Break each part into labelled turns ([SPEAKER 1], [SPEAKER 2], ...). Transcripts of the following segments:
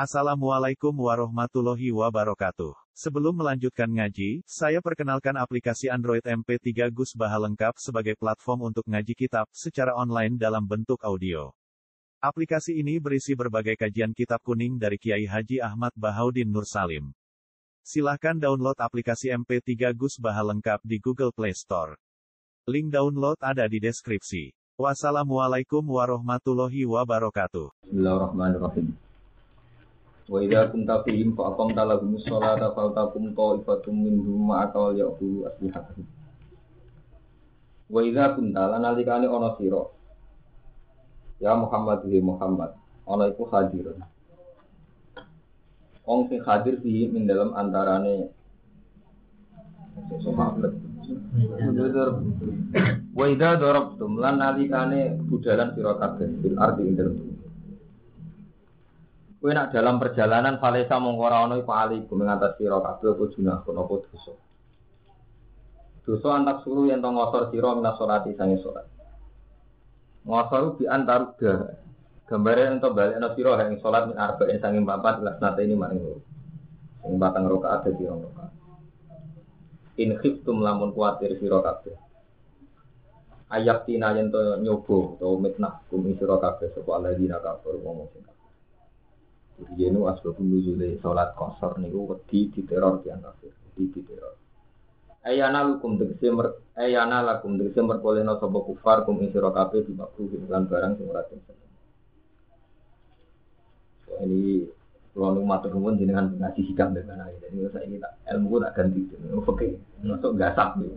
[SPEAKER 1] Assalamualaikum warahmatullahi wabarakatuh. Sebelum melanjutkan ngaji, saya perkenalkan aplikasi Android MP3 Gus Baha lengkap sebagai platform untuk ngaji kitab secara online dalam bentuk audio. Aplikasi ini berisi berbagai kajian kitab kuning dari Kiai Haji Ahmad Bahaudin Nur Salim. Silahkan download aplikasi MP3 Gus Baha lengkap di Google Play Store. Link download ada di deskripsi. Wassalamualaikum warahmatullahi wabarakatuh.
[SPEAKER 2] Bismillahirrahmanirrahim. Wa idza kunta fihim fa aqamta lahumus sholata faltaqum ta'ifatum minhum ma'aka ya'khudhu aslihatahum. Wa idza kunta lan nalikane ana sira ya Muhammad ana iku hadir. Wong sing hadir fi min dalam antarane sahabat. Wa idza darabtum lan nalikane budalan sira kabeh fil ardi ing dalem. Kowe nak dalam perjalanan falesa mongko ora ana iku alikum ngatasi sira kabeh apa junah apa dosa. Dosa antak suruh yen to ngosor sira minas salati sange salat. Ngosor di antar gambare ento balekno sira ing salat min arba'in sange 4 lasnate ini maring loro. Sing batang rakaat dadi rakaat. In khiftum lamun kuwatir sira kabeh. Ayat tina yen to nyoba utawa mitnah kum sira kabeh sapa alladzina kafaru ngomong sing Yenu asbabun nuzule salat qasar niku wedi diteror tiyang kafir, diteror. Ayana lakum tegese merkolehna sapa kufar kum sira kabeh dimakruh lan barang sing ora tentu. So ini kula nu matur nuwun jenengan ngaji hikam dengan ae. Jadi saiki tak ilmu tak ganti. Oke, masuk gasap niku.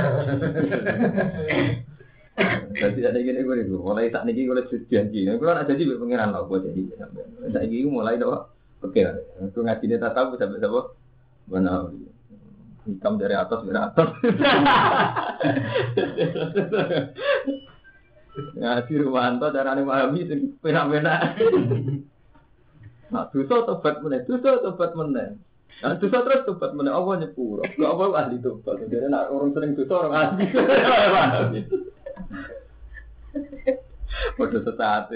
[SPEAKER 2] Jadi ada gini gue nih, mulai saat ini gue lihat janji. Gue kan ada jadi pengiran lah buat jadi. Saat ini mulai doa, oke. Gue ngaji dia tak tahu sampai siapa. Mana hitam dari atas beratas. Ngaji Rumanto darah ini pahami pena-pena. Nah, dosa tobat meneh, Nah, dosa terus tobat meneh. Allah nyepuro. Gak apa ahli tobat. Jadi nak orang sering dosa orang ahli. Waduh sesate.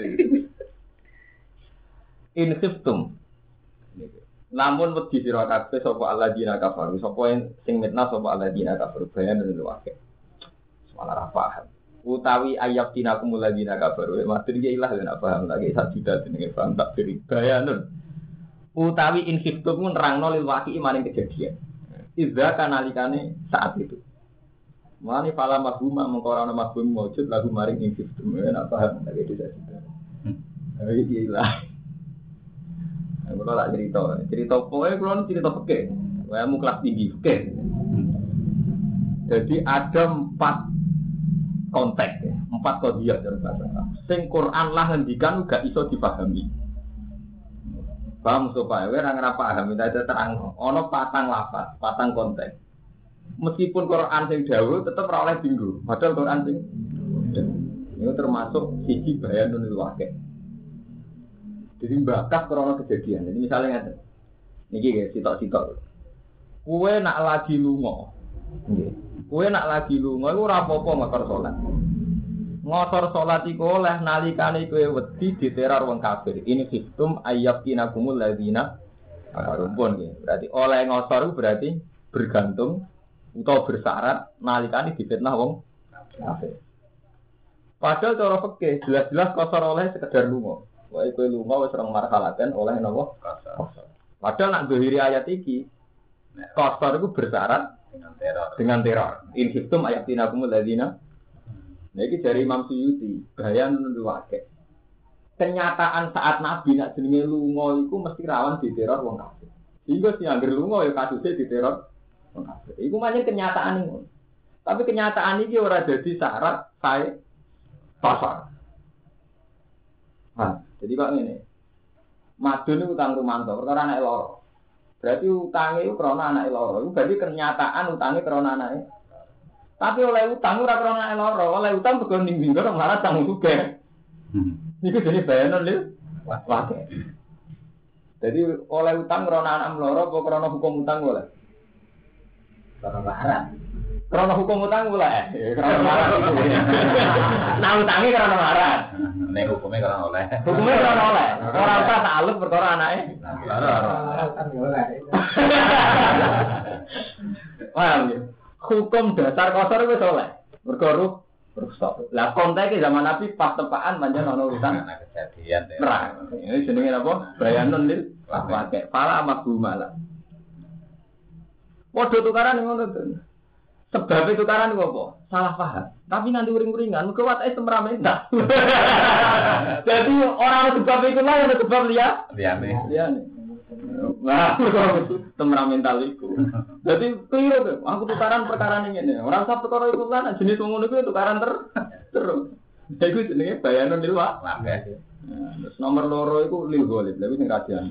[SPEAKER 2] In khiftum. Namun wedi sira kabeh sapa alladzina kafaru, sapa sing mitnah sapa alladzina kafaru bayan lan wae. Salah paham. Utawi ayat dinakumul ladzina kafaru, maksud iki ilah nek paham lagi sak juta jenenge paham tak beri bayanun. Utawi in khiftum nerangno lil waqi maring kejadian. Idza kanalikane saat itu. Mani fala mahuma mengkorana mahbum mawjud lagu maring ing sistem enak paham lagi tidak sudah. Iyalah. Aku lak cerita pokoke kula cerita fikih. Wae mu kelas tinggi fikih. Jadi ada 4 konteks ya, 4 qadhiyah dalam bahasa Arab. Sing Quran lah ngendikan gak iso dipahami. Paham supaya wae ora ngrapaham ada terang ana 4 lafaz, 4 konteks. Meskipun Quran sing dawuh tetep ora oleh dinggo. Padahal Quran sing itu termasuk siji bayanun waqi'. Jadi bakas krana kejadian. Jadi misalnya ngeten. Niki nggih sitok-sitok. Kowe nak lagi lunga. Nggih. Kowe nak lagi lunga iku ora apa-apa ngosor salat. Ngosor salat iku oleh nalikane kowe wedi diteror wong kafir. Ini sistem ayyakinakumul ladzina rumpun nggih. Berarti oleh ngosor berarti bergantung utawa bersyarat nalikane difitnah wong kafir. Padahal cara fikih jelas-jelas kosor oleh sekedar lunga. Wae kowe lunga wis ora marhalaten oleh napa kosor. Padahal nak dohiri ayat iki kosor iku bersyarat dengan teror. In hiftum ayatinakumul ladzina. Nah iki dari Imam Suyuti, bayan waqi'. Kenyataan saat Nabi nak jenenge lunga iku mesti rawan diteror wong kafir. Sehingga sing anggere lunga ya kasuse diteror. Iku macam kenyataan ini. Tapi kenyataan ini ora jadi syarat saya pasar. Nah, jadi kok ini. Madun itu utang Rumanto, perkara anak loro. Berarti utangnya itu karena anak loro. Itu berarti kenyataan utangnya karena anaknya. Tapi oleh utang ora karena anak loro, oleh utang bukan ning orang malah tanggung juga. Itu jadi bayanan lho. Wae. Jadi oleh utang karena anak loro apa karena hukum utang boleh? Karena larang. Karena hukum utang mulai, karena marah. Nah utangi karena marah.
[SPEAKER 3] Nek hukumnya karena oleh.
[SPEAKER 2] Hukumnya karena oleh. Orang tak takluk perkara anaknya.
[SPEAKER 3] Kan oleh.
[SPEAKER 2] Paham ya? Hukum dasar kosor itu oleh. Berkorup, rusak. Lah konteksnya zaman Nabi pas tepaan banyak ono urusan.
[SPEAKER 3] Kejadian deh.
[SPEAKER 2] Perang. Ini jenenge apa? Bayanun lil pakai. Fala maghumala. Padha tukaran ngono to. Sebab tukaran iku apa? Salah paham. Tapi nanti uring-uringan mergo watake temperamental. Jadi orang sebab iku lah yang sebab liyane. Nah, temperamental iku. Jadi keliru tuh. Aku tukaran perkara ngene. Ora usah perkara iku lan jenis wong ngono iku tukaran terus. Iku jenenge bayanun lil wae. Terus nomor loro iku lil ghalib. Lha sing radian.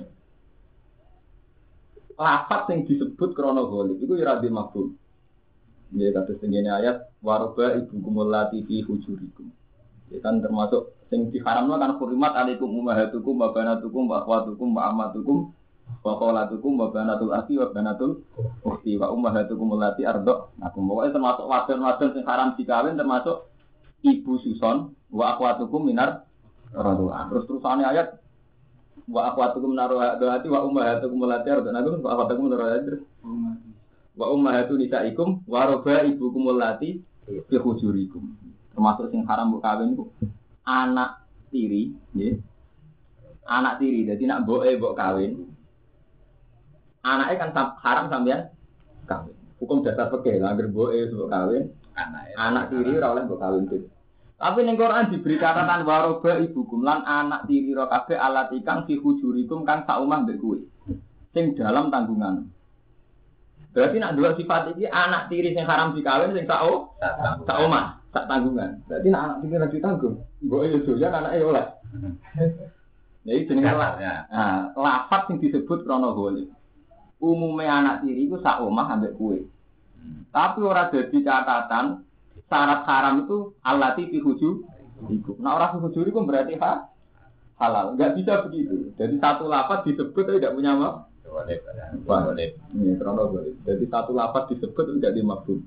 [SPEAKER 2] Lafaz sing disebut krana ghalib iku ya radhi mafhum. Ya kados tengene ayat waroba ibukumul lati fi hujurikum. Ya kan termasuk sing diharamno kan hurimat alaikum ummahatukum wa banatukum wa akhwatukum wa ammatukum wa khalatukum wa banatul akhi wa banatul ukhti wa ummahatukum allati arda'nakum. Pokoke termasuk wadon-wadon sing haram dikawin termasuk ibu suson wa akhwatukum minar radha'an. Terus terusane ayat wa akhwatukum naruhati wa ummahatukum allati arda'nakum wa akhwatukum naruhati wa ummahatu nisaikum wa rabaibukum allati fi hujurikum. Termasuk sing haram mbok kawin iku anak tiri, nggih. Anak tiri, dadi nek mboke mbok kawin. Anake kan haram sampeyan kawin. Hukum dasar fikih, anggere mboke mbok kawin, anak tiri ora oleh mbok kawin. Tapi ning Quran diberi catatan wa rabaibukum lan anak tiri ro kabeh alati kang fi hujurikum kang sak omah mbek kowe. Sing dalam tanggungan. Berarti nak dua sifat ini anak tiri yang haram dikawin sing sak omah, sak tanggungan. Berarti nak anak tiri lagi tanggung, mbok yo doyan anake oleh. Ya iki jenenge lafaz sing disebut krana ghalib. Umume anak tiri iku sak omah ambek kowe. Tapi ora dadi catatan syarat haram itu allati fi hujurikum. Nah ora fi hujurikum berarti halal. Enggak bisa begitu. Jadi satu lafaz disebut tapi tidak punya apa? Ghalib. Ini krono ghalib. Jadi satu lafaz disebut tidak dimafhum.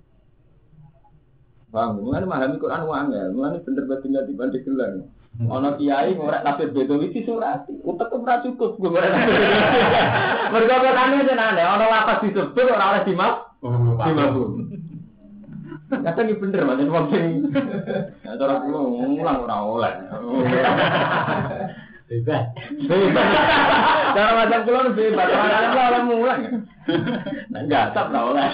[SPEAKER 2] Paham? Mulane memahami Quran wangel. Mulane bener bener dibanding gelang. Ana kiai ngorek tafsir Bedawi disurati. Utek ora cukup ngorek. Mergo katane jenenge ana lafaz disebut ora oleh dimafhum. Kadang iki bener Mas wong sing cara kula ngulang ora oleh. Bebas. Cara macam kula bebas, orang ora mulang. Nah enggak tak oleh.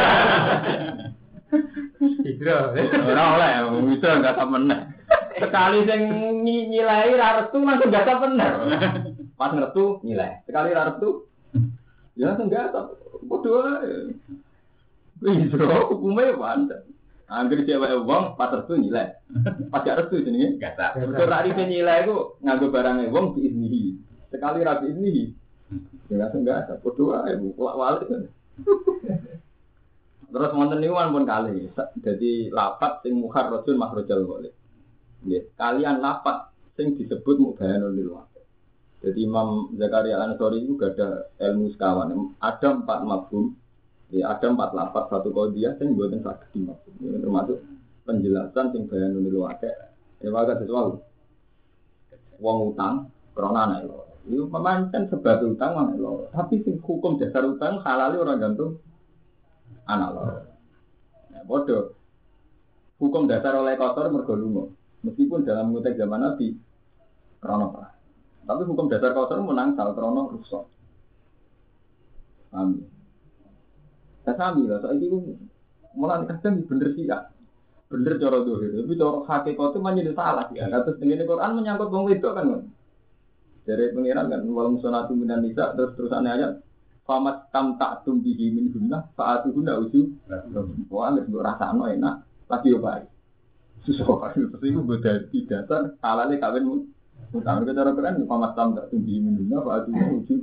[SPEAKER 2] Hidro. Ora oleh, itu enggak tak meneh. Sekali sing nyilai ra restu langsung enggak tak bener. Pas ngertu nyilai. Sekali ra restu ya langsung enggak tak. Bodoh ae. Hidro hukume pancen. Angger cewek wong pas restu nyilai. Pas gak restu jenenge gak tak. Terus ra ripe nyilai iku nganggo barange wong diiznihi. Sekali ra diiznihi. Ya langsung gak ada. Podo ae walik. Terus wonten niku pun kali. Dadi lafaz sing mukharrajun makhrajal ghalib. Nggih, kalian lafaz sing disebut mubayanul lil waqi'. Jadi Imam Zakaria Al-Ansari itu gak ada ilmu sekawan. Ada 4 mafhum. Ya, ada 4 lafaz, 1 qadhiyah sing mboten saged dimafhum. Ini termasuk penjelasan sing bayanun lil waqi'. Ya wae sesuatu. Wong utang krana anak loro. Iku pemancen sebab utang anak loro. Tapi sing hukum dasar utang halal ora gantung anak loro. Ya padha. Hukum dasar oleh kotor mergo lunga. Meskipun dalam konteks zaman Nabi krana perang. Tapi hukum dasar kotor menang sal krana rusak. Amin. Sami lah, soal itu mulai kadang bener sih ya, bener cara dohir, tapi cara hakikat itu menjadi salah ya. Kata dengan Quran menyangkut wong wedok kan, dari pengiran kan, walau musonatu minan nisa terusannya ayat, famat tam tak tumbihi min guna, saat itu guna uju, wah nggak sebut rasa enak, lagi obat, susah, terus itu berarti dasar halalnya kawin, utang kita Quran, famat tam tak tumbihi min guna, saat itu uju.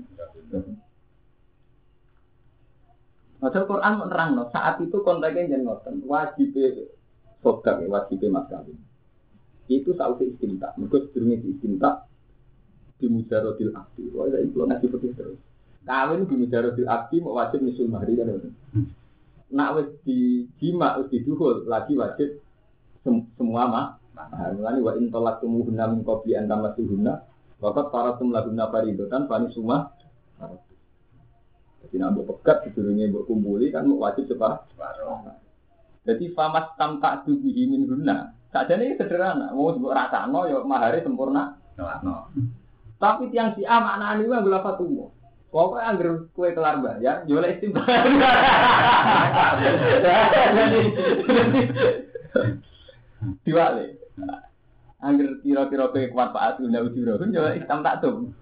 [SPEAKER 2] Padahal Quran menerang saat itu konteksnya jangan ngoten wajib sodaq wajib mas kawin itu sausi istinta mereka sedurunge istinta di mujarodil akdi wah itu ngaji putih terus kawin di mujarodil akdi mau wajib nisul mahri kan nak wis dijima wis diduhul lagi wajib semua mah. Mulane wa in talaqtumuhunna min qabli an tamassuhunna waqad faratum lahunna fariidatan fani summa. Jadi nak mbok pegat sedurunge mbok kumpuli kan wajib separuh. Jadi famas tamta bihi min hunna. Sakjane sederhana, mau mbok rasakno ya mahare sempurna. Tapi tiang si A maknane wae lha fatumu. Pokoke anggere kowe kelar bayar, yo oleh istimewa. Diwale. Angger kira-kira kowe kuat Pak Atul ndak ujuro, kan yo istam tak tum.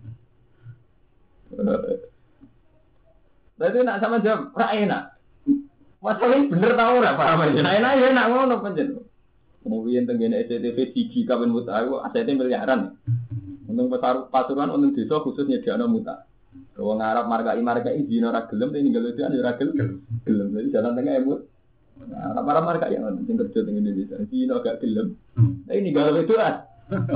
[SPEAKER 2] Berarti nak sama jawab, ra enak. Masalahnya bener tau ora Pak Amal. Enak ya enak ngono pancen. Kemudian tenggene SCTV siji kapan muta aku ACT miliaran. Untung pasuruan untung desa khusus nyediakno muta. Wong Arab markai izin ora gelem ning ninggal itu ora gelem. Jadi jalan tengah emut. Arab markai yang sing kerja teng Indonesia. Izin agak gelem. Nah ini galau itu ah.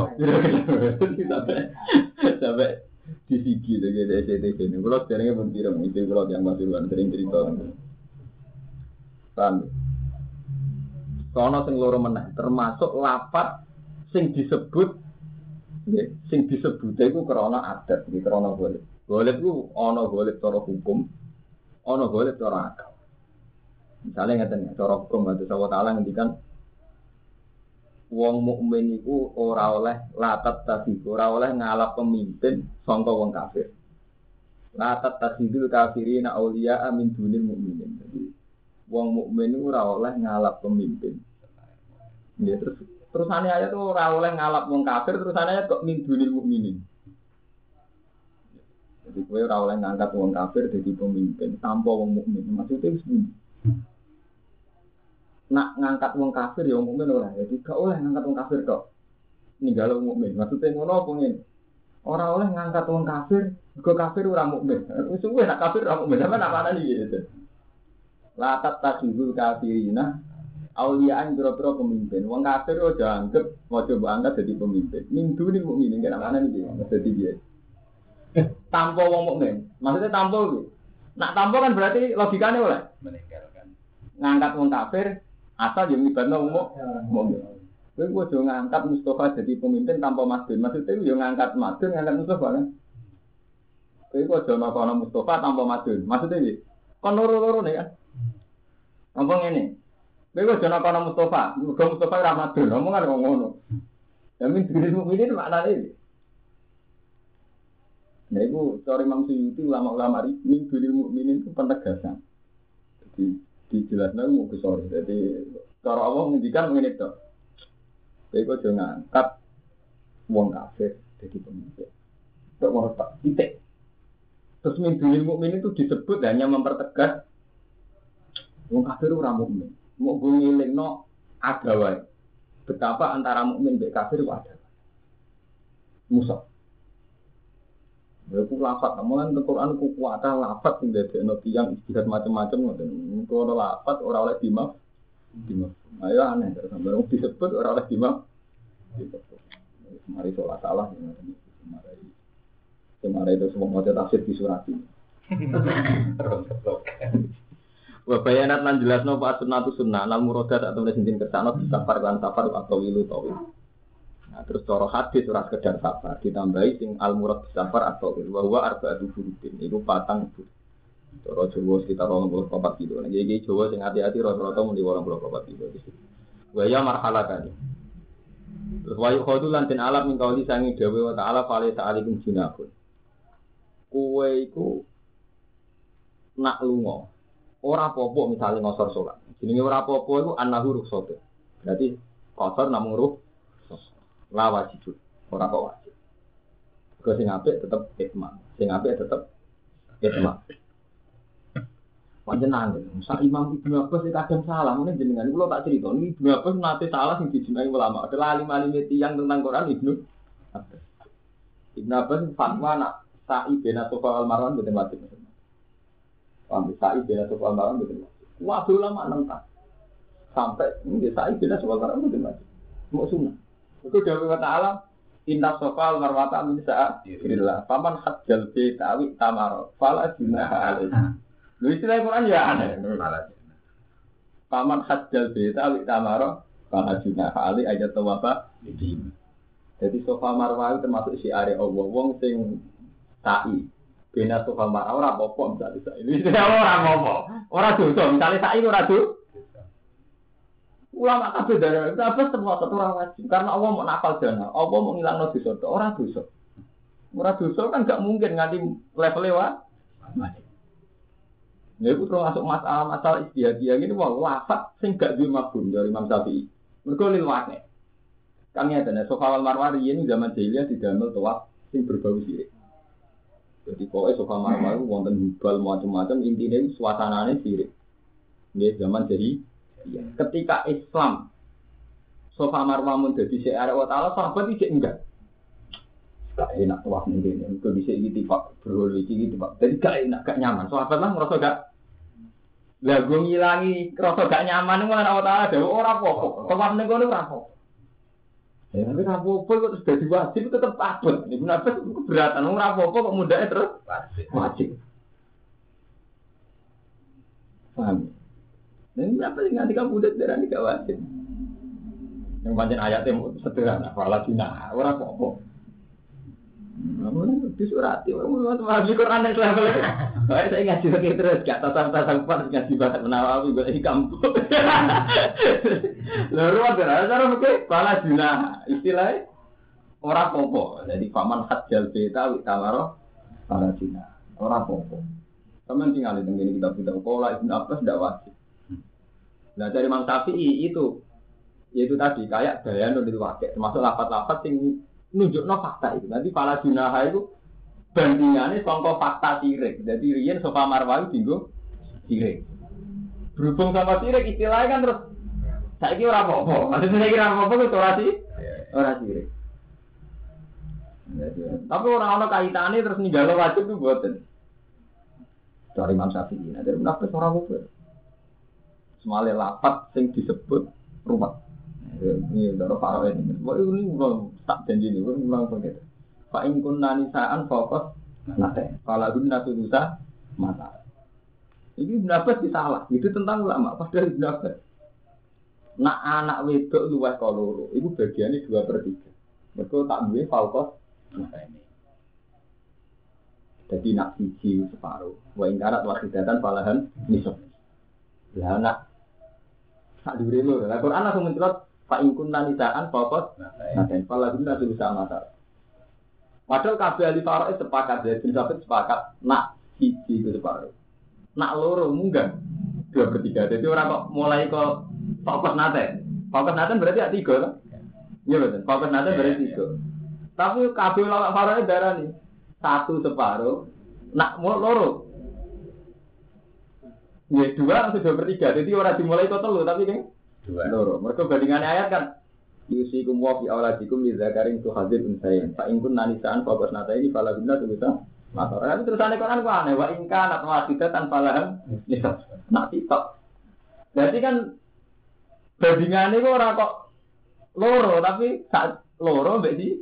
[SPEAKER 2] Sampai di sigi dengan SCTV ini. Kalau sekarangnya pun tidak mungkin kalau yang pasuruan sering cerita. Paham? Sono sing loro meneh termasuk lapat sing disebut nggih sing disebut iku krana adat iki krana golek. Golek ku ana golek cara hukum, ana golek cara akal. Misale ngaten cara hukum Allah Taala ngendikan wong mukmin iku ora oleh latat tasih, ora oleh ngalap pemimpin sangka wong kafir. Latat tasihul kafirina auliya min dunil mukminin. Jadi wong mukmin ora oleh ngalap pemimpin. Ya terusane ayat tuh ora oleh ngalap wong kafir, terusane ayat kok min dunil mukminin. Jadi kowe ora oleh ngangkat wong kafir dadi pemimpin tanpa wong mukmin. Maksudnya wis pundi? Nak ngangkat wong kafir ya wong mukmin ora. Jadi gak oleh ngangkat wong kafir tok. Ninggal wong mukmin. Maksudnya ngono apa ngene? Ora oleh ngangkat wong kafir, mergo kafir ora mukmin. Wis suwe nak kafir ora mukmin, sampe nak ana iki gitu. La tattakhizul kafirina auliyaan biro-biro pemimpin. Wong kafir aja anggap mau coba angkat jadi pemimpin. Minggu ni mukminin kena mana nih dia? Jadi dia. Tanpa wong mukmin. Maksudnya tanpa itu. Nak tanpa kan berarti logikanya oleh
[SPEAKER 3] meninggalkan.
[SPEAKER 2] Ngangkat wong kafir asal yang ibadah mukmin. Kowe kudu ngangkat Mustafa jadi pemimpin tanpa Madun. Maksudnya yo ngangkat Madun, ngangkat Mustafa kan. Kowe kudu makono Mustafa tanpa Madun. Maksudnya iki. Kon loro-loro nih kan. Ngomong ini. Kowe kudu makono Mustafa, muga Mustafa ora Madun. Omongan kok ngono. Ya min diri mukminin maknane iki. Nah itu cara Imam Suyuti ulama-ulama min diri mukminin itu penegasan. Jadi dijelaskan mau besar. Jadi cara Allah menghentikan mengenai itu. Jadi kau jangan angkat wong kafir jadi pemimpin. Tidak mau tak titik. Terus min mukmin itu disebut hanya mempertegas wong kafir ora mukmin. Mau ngilingno ada wae. Betapa antara mukmin dan kafir itu ada. Musuh. Aku lafaz, namun di Quran ku kuatah lafaz yang dari tiyang istihad macam-macam ngoten. Kalau lafaz orang oleh dimaf. Ayo aneh sampai orang disebut orang oleh dimaf. Mari sholat salah kemarin itu semua mau tafsir di surat ini. Wa bayanat lan jelasno fa sunnatu sunnah al muradat atau sintin kersano safar lan safar atau wilu tawil. Nah, terus cara hadis ora sekedar safar ditambahi sing al murad safar atau wa huwa arba'atu furudin iku patang itu. Cara Jawa sekitar 24 kilo. Nah, iki Jawa sing hati-hati rata-rata muni 24 kilo iki. Wa ya marhalatan. Terus wa yukhadu lan den alam min kauli sangi dawe wa ta'ala fale sa'alikum junahun. Kowe iku nak lunga ora apa-apa misale ngosor salat. Jenenge ora apa-apa iku annahu rukhsat. Berarti qasar namung la wajib ora kok wajib. Kok sing apik tetep itma. Sing apik tetep itma. Panjenengan, sak Imam Ibnu Abbas kadang salah, mungkin jenengan kula tak crito, Ibnu Abbas nate salah sing dijinai ulama. Adalah alim-alim tiyang tentang Quran Ibnu Abbas. Ibnu Abbas fatwa nak sa'i bena sofa al-marwan mboten wajib. Paham sa'i bena sofa al-marwan mboten wajib. Waduh ulama nentang. Sampai nggih sa'i bena sofa al-marwan mboten wajib. Mau sunah. Itu dawuh Ta'ala inna sofa al-marwata min sa'illah. Faman hajjal bi ta'wi tamar fala junaha alaihi. Lu istilah Quran ya aneh. Paman hajjal beta wi tamaro bahajuna ali ayat tawaba. Jadi Safa Marwah itu termasuk syiar Allah. Wong sing sa'i bena Safa Marwah ora apa-apa misalnya ini ora apa-apa. Ora dosa, misalnya sa'i ora dosa. Ulama kabeh darah apa semua ora wajib karena Allah mau nafal dana. Allah mau ngilangno dosa, ora dosa. Ora dosa kan gak mungkin nganti level lewat. Ya itu termasuk masalah istihadiyah ini wah lafaz sing gak duwe mafhum dari Imam Syafi'i. Mergo lil waqi'. Kami ada Safa wal Marwah ini zaman jahiliyah didamel tawaf sing berbau sirik. Jadi pokoknya Safa Marwah itu wonten hubal macam-macam intinya suasanane sirik. Nggih zaman jahiliyah. Ketika Islam Safa Marwah mun dadi syiar Allah Taala sahabat iki enggak. Gak enak tawaf ning kene. Kok bisa iki Pak bro iki Pak. Jadi gak enak, gak nyaman. Sahabat lah ngerasa gak lah gue ngilangi rasa gak nyaman ngono Allah Taala dhewe ora apa-apa. Tawaf ning kono ora apa-apa. Ya, tapi apa-apa kok terus jadi wajib tetap abot. Ini kenapa keberatan? Ora apa-apa kok mudahnya terus wajib. Paham? Dan kenapa sih nanti kamu mudah darah ini gak wajib? Yang panjang ayatnya sederhana, faladina, ora apa-apa. Namun disurati, orang mau di Quran yang level. Baik saya ngaji lagi terus, gak tatang-tatang pas ngaji banget menawawi gue di kampung. Lalu ada cara mungkin pala juna istilahnya orang popo. Jadi paman hajjal beta witamaro pala juna orang popo. Teman tinggal di tengah ini kita kola ibn Abbas tidak wajib. Nah dari Imam Syafi'i itu yaitu tadi kayak bayan dari wakil termasuk lapat-lapat yang nunjukno fakta itu. Nanti pala juna itu bandingannya sangka fakta sirik. Jadi riyen Safa Marwah dinggo sirik. Berhubung sama sirik istilahnya kan terus saiki ora apa-apa. Maksudnya saiki ora apa-apa itu ora sirik. Tapi ora ana kaitane terus ninggalo wajib itu mboten. Dari Imam Syafi'i. Nah, dari menafsir ora apa-apa. Semale lapat sing disebut rumah. Ini daro farawe ini. Wah ini ulang tak janji ini, ulang begitu. Fa in kunna nisaan fokus nate. Kalau guna tudusa mata. Ini pendapat salah. Itu tentang ulama. Padahal pendapat. Nak anak wedok luwes kaloro. Itu bagiannya 2/3. Mereka tak duwe fokus mata ini. Jadi nak siji separuh. Wa in karat wahidatan falahan nisab. Lah nak sak dhuwure lho. Lah Quran langsung mencelot fa in kunna nisaan fokus nate. Falahan tudusa mata. Padahal kabeh ahli faraid sepakat, ya bin Sabit sepakat nak siji itu separuh. Nak loro munggah 2/3. Jadi orang kok mulai kok fokus nate. Fokus nate berarti ada 3 kan? Iya betul. Fokus nate berarti 3. Tapi kabeh ulama faraid darani 1 separuh, nak loro. Ya 2 atau 2/3. Jadi orang dimulai kok 3 tapi kan 2 loro. Mereka bandingannya ayat kan yusikum wa fi auladikum li dzakarin tu hadzil unsayin. Fa in kunna nisaan fa basnata ini fala guna tubuta. Maka tapi terusane Quran ku aneh wa in kana wasitatan falahan nisab. Nak titok. Jadi kan bandingane kok ora kok loro tapi sak loro mbek di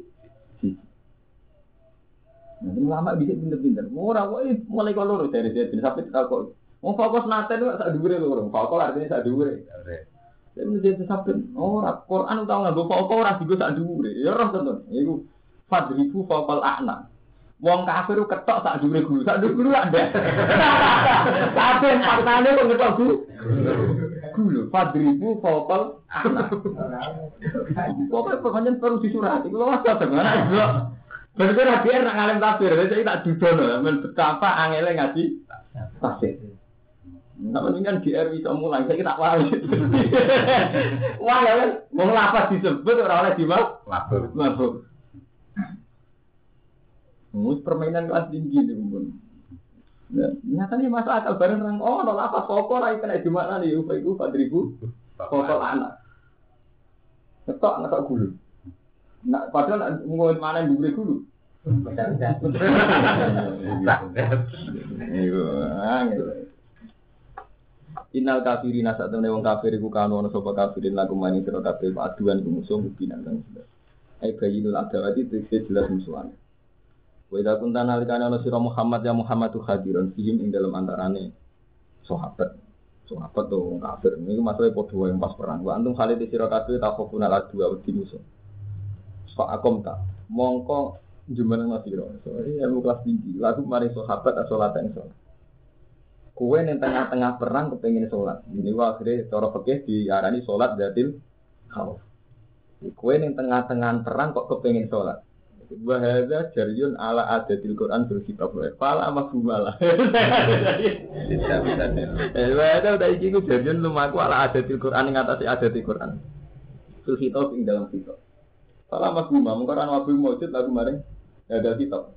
[SPEAKER 2] Nanti lama bisa pinter-pinter. Ora kok mulai kok loro dari bin sampai kok. Mau fokus nate itu sak dhuwure loro. Fokus artinya sak dhuwure. Saya menjadi sabun. Orang Quran tahu nggak bawa orang juga tak dure. Ya orang tentu. Iku fadribu faqal a'na. Wong kafir ketok tak dure guru. Tak dure guru ada. Tapi faktanya kok ketok guru. Guru fadribu faqal a'na. Pokoknya perlu disurati. Kalau wasa dengan itu. Bener-bener biar nak ngalim tafsir. Jadi tak dudono. Betapa angele ngaji tafsir. Nggak mungkin kan GR bisa mulai, saya tak wali. Wah ya kan, mau lapas disebut orang oleh dimab, mabuk. Mus permainan kelas tinggi nih pun. Nyatanya masuk akal bareng orang. Oh, no lapas pokok lagi kena di mana nih? Upaiku 4.000 pokok anak. Ketok nggak gulu. Nak padahal ngomong mana yang diberi gulu. Innal kafirina sak temene wong kafir iku kanu ana sapa kafirin lagu mani sira kabeh aduan musuh binan kang sudah. Ai bayinul adawati tegese jelas musuhan. Wa idza kunta nalikane ana sira Muhammad ya Muhammadu hadiron fihim ing dalem antarane sahabat. Sahabat tuh wong kafir. Niku masalah padha yang pas perang. Wa antum khalid sira kabeh takhofuna adu wedi musuh. Fa akom ta. Mongko jumeneng sira. Soale ilmu kelas tinggi. Lalu mari sahabat salat yang salat. Kowe ning tengah-tengah perang kepengin salat. Ini wae akhire cara fikih diarani salat dzatil khauf. Kowe ning tengah-tengah perang kok kepengin salat. Wa hadza jaryun ala adatil Quran bil kitab wa fala mafhumalah.
[SPEAKER 3] Tidak bisa.
[SPEAKER 2] Wa hadza udah iki ku jaryun lumaku ala adatil Quran ing atase adatil Quran. Bil kitab ing dalam kitab. Fala mafhumah mung Quran wa mujud lagu maring ada kitab.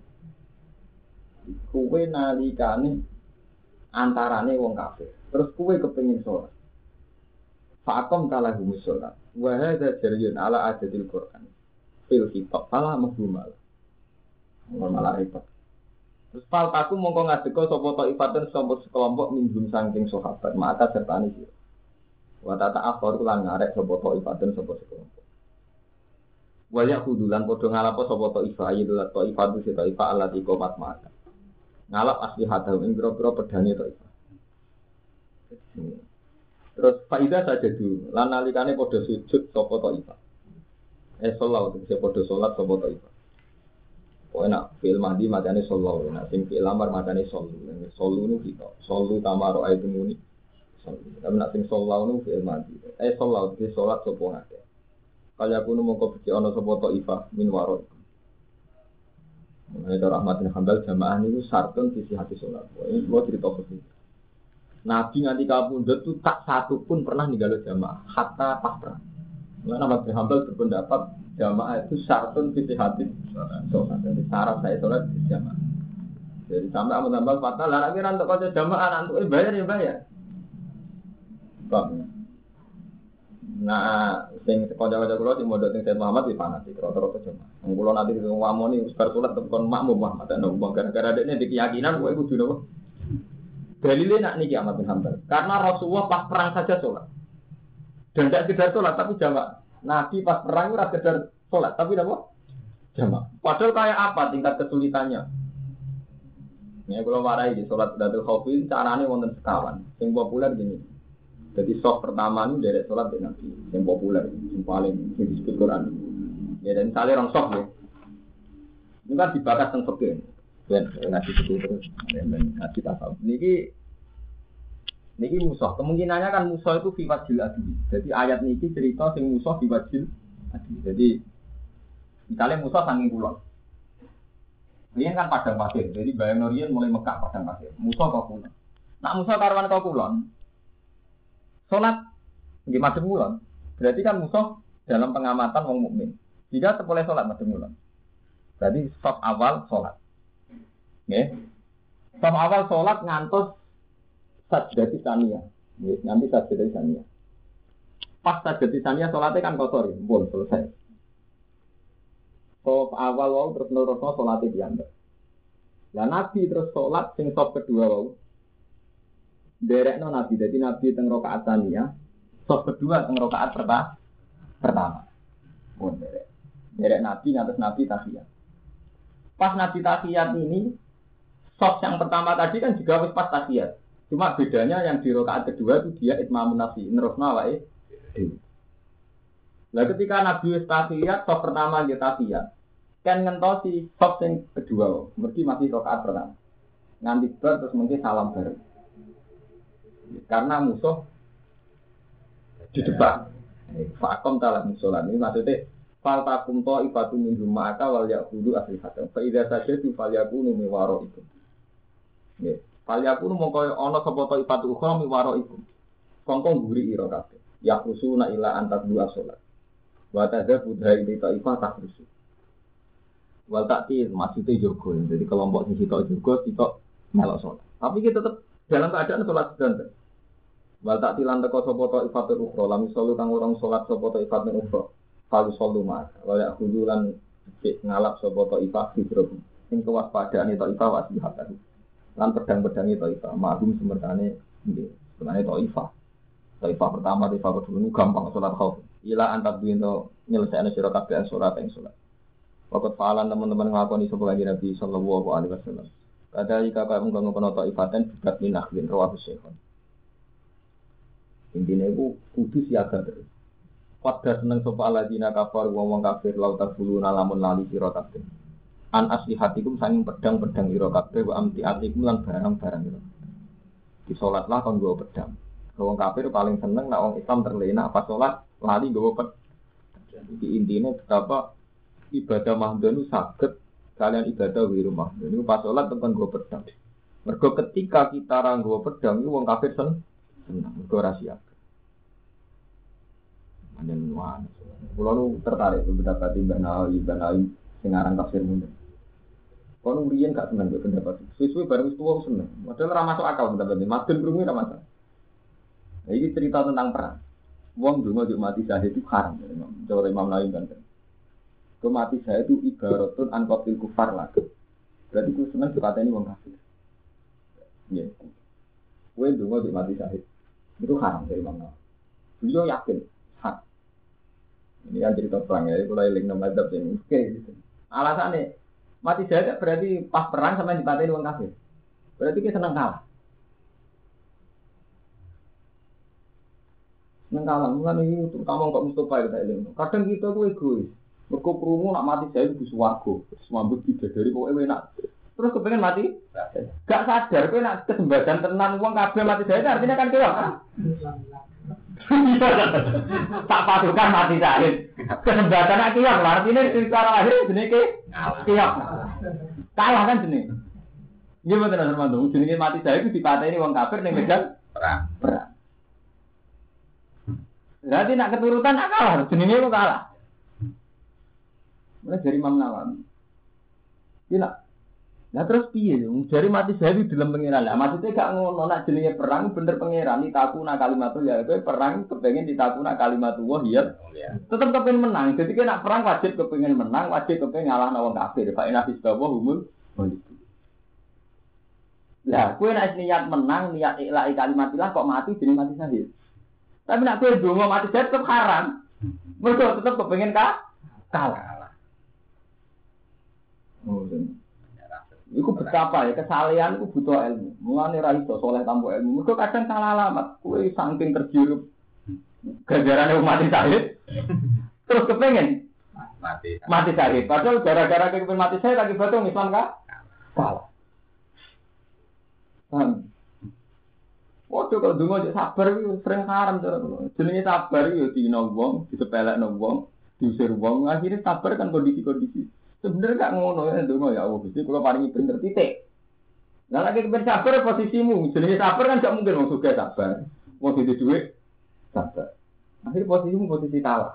[SPEAKER 2] Kowe nalikane antarane wong kafir. Terus kowe kepengin salat. Fa'akom kalahu musolat. Wa hadza jaryun ala adatil Quran. Fil kitab salah mahbumal. Malah repot. Terus fal taku mongko ngadeka sapa taifatan sapa sekelompok minjum saking sahabat maka sertane sira. Wa tata akhir lan ngarek sapa taifatan sapa sekelompok. Wa yaqudulan padha ngalapo sapa taifah ayyul taifatu si taifah allati qomat maka. Ngalap asli hadal ing pira-pira pedane taifah. Terus faedah saja dulu lan nalikane padha sujud sapa taifah. Sholat itu bisa podo sholat sopo taifah. Kau enak film mandi macamnya sholat, enak sing film lamar macamnya sholat. Sholat nu kita, sholat tamaro ayat muni. Tapi nak sing sholat nu film mandi. Sholat itu sholat sopo ngake. Kalau aku nu mau kau pergi ono sopo taifah min warot. Mengenai Rahmat bin Hambal jamaah ini sarton sisi hati sholat. Ini gua cerita begini. Nabi nganti kabundut itu tak satu pun pernah ninggalin jamaah, hatta pas perang. Nama bin Hambal berpendapat jamaah itu syartun fitih hati sholat. Jadi syarat saya sholat di jamaah. Jadi sampai Ahmad Hambal fatwa, lah akhirnya untuk kau jamaah nanti bayar ya bayar. Bang. Nah, sing kau-kau kulo di modal sing Said Muhammad di fanatik rata-rata jamaah. Kulo nanti di wamoni usbar sholat tekan makmum Muhammad dan gara-gara adanya di keyakinan gue kudu nopo. Dalilnya nak niki Ahmad bin Hambal. Karena Rasulullah pas perang saja sholat. Dan tidak sekedar sholat, tapi jamaah. Nabi pas perang itu sekedar sholat, tapi apa? Jamaah. Padahal kayak apa tingkat kesulitannya? Ini kalau warai di sholat Datul Khawfi, caranya wonten sekawan. Yang populer gini. Jadi soft pertama ini dari sholat dengan Nabi. Yang populer, yang paling disebut Quran. Ya dan misalnya orang soft ya. Ini kan dibakar tentang fakir. Dan ngasih itu terus, dan ngasih tasawuf. Niki musuh, kemungkinannya kan musuh itu fiwajil adi. Jadi ayat niki cerita sing musuh fiwajil adi. Jadi misalnya musuh sanging kulon. Ini kan padang pasir. Jadi bayang Norian mulai Mekah padang pasir. Musuh kok kulon. Nak musuh karwan kok kulon. Salat nggih madhep kulon. Berarti kan musuh dalam pengamatan wong mukmin. Jika boleh salat madhep kulon. Berarti stop awal salat. Nggih. Stop awal salat ngantos sajdati saniyah. Nanti sajdati saniyah. Pas sajdati saniyah sholatnya kan kotor ya. Bon, selesai. So awal wau terus nerusno sholatnya diambil. Lah Nabi terus sholat sing sop kedua wau. Derekno Nabi. Jadi Nabi teng rakaat saniyah. Sop kedua teng rakaat pertama. Bon, derek Nabi ngantos Nabi tahiyat. Pas Nabi tahiyat ini sop yang pertama tadi kan juga wis pas tahiyat. Cuma bedanya yang di rakaat kedua itu dia itmamun nafsi, nerusna wae. Lah ketika Nabi wis tahiyat, sop pertama dia tahiyat. Kan ngentosi sop sing kedua, mesti masih rakaat pertama. Nganti bar terus mungkin salam bareng. Karena musuh di depan. Fakom talah musolat ini maksudnya fal takum to ibatu min ma'aka wal ya'budu asli hatam. Fa idza sajadu fal yakunu mi waraikum. Nggih. Fal yakunu mongko ana sapa to ibatu ukhra mi waraikum. Kongkong guri ira kabeh. Ya khusuna ila antat dua salat. Wa tadza budai di taifah takrusu. Wal takti maksudnya jogo. Jadi kelompok sing sitok jogo sitok melok salat. Tapi kita tetap dalam keadaan salat sedang. Wal tak tilan teko sapa ta ifatul ukhra lam salu kang orang salat sapa ta ifatul ukhra kalu salu mas wala khudulan ngalap sapa ta ifat hidrob sing kewaspadaan ta ifat wasbihatan lan pedang-pedange ta ifat ma'lum semertane nggih sebenarnya ta ifat pertama ta ifat kedua gampang salat khauf ila antab binto nyelesaikne sira kabeh salat ing salat waktu faalan teman-teman nglakoni sapa kanjeng Nabi sallallahu alaihi wasallam kadali kakak mung ngono ta ifatan bidat min akhlin rawahu syekhon. Intinya itu kudu siaga terus. Pada seneng sapa alladzina kafaru wong kafir lauta buluna lamun lali sira kabeh. An aslihatikum sanging pedang-pedang ira kabeh wa amtiatikum lan barang-barang ira. Di salatlah kon nggawa pedang. Wong kafir paling seneng nek wong Islam terlena pas salat lali nggawa pedang. Jadi intinya betapa ibadah mahdhun saged kalian ibadah wiru mahdhun. Niku pas salat tekan nggawa pedang. Mergo ketika kita ra nggawa pedang niku wong kafir seneng mergo rahasia. Anjen wan. Kulo nu tertarik pendapat Mbah Nawawi sing aran tafsir mundur. Kulo riyen gak seneng mbek pendapat. Suwe-suwe bareng tuwa seneng. Padahal ora masuk akal pendapat iki. Madun krungu ora masuk. Nah, ini cerita tentang perang. Wong donga yo mati syahid itu haram. Cara Imam Nawawi kan. Mati syahid itu ibaratun an qatil kufar lah. Berarti ku seneng dikateni wong kafir. Nggih. Kowe donga yo mati syahid. Itu haram dari Imam Nawawi. Beliau yakin hak. Ini yang cerita perang ya, kalau eling nama adab ini, oke gitu. Alasannya mati syahid berarti pas perang sama dipatahin orang kafir. Berarti kita senang kalah. Senang kalah, mulai ini terutama kok Mustafa kita eling. Kadang kita tuh egois. Mereka perlu nak mati syahid di swarga, semambut tidak dari pokoknya enak. Terus kepengen mati, gak sadar, kau nak kesembadan tenan uang kabel mati syahid artinya kan kira. Tak pasukan mati syahid. Kesempatan akibat artinya secara lahir jenis kiok. Kalah kan jenis. Dia betul Armando. Jenis mati syahid itu dipateni wong kafir ning medan perang. Berarti nak keturutan kalah, jenenge kok kalah. Mulai dari Imam Nawawi. Iya. Nah terus piye yo? Dari mati syahid di dalam pangeran. Lah maksudnya gak ngono nak jenenge perang bener pangeran ditakuna kalimatul ya kowe perang kepengin ditakuna kalimatullah ya. Tetep kepengin menang. Jadi kan nak perang wajib kepengin menang, wajib kepengin ngalahno wong kafir. Fa inna fisbawa humul wajib. Lah kowe nek niat menang, niat ikhlas kalimatillah kok mati jenenge mati syahid. Tapi nak kowe donga mati syahid tetep haram. Mergo tetep kepengin kalah. Oh, iku betapa ya kesalehan iku butuh ilmu. Mulane ra iso saleh tanpa ilmu. Mergo kadang salah alamat. Kowe saking terjerup gajarane mati syahid. Terus kepengen mati syahid. Padahal gara-gara kepengen mati syahid lagi batung Islam kalah. Waduh kalau donga sabar iku sering haram cara kula. Jenenge sabar iku dina wong, disepelekno wong, diusir wong, akhirnya sabar kan kondisi-kondisi. Sebenarnya gak ngono ya ndonga ya Allah Gusti kula paringi bener titik. Lah lagi kepen sabar posisimu, jenenge sabar kan gak mungkin wong sugih sabar. Wong duwe dhuwit sabar. Akhir posisimu posisi kalah.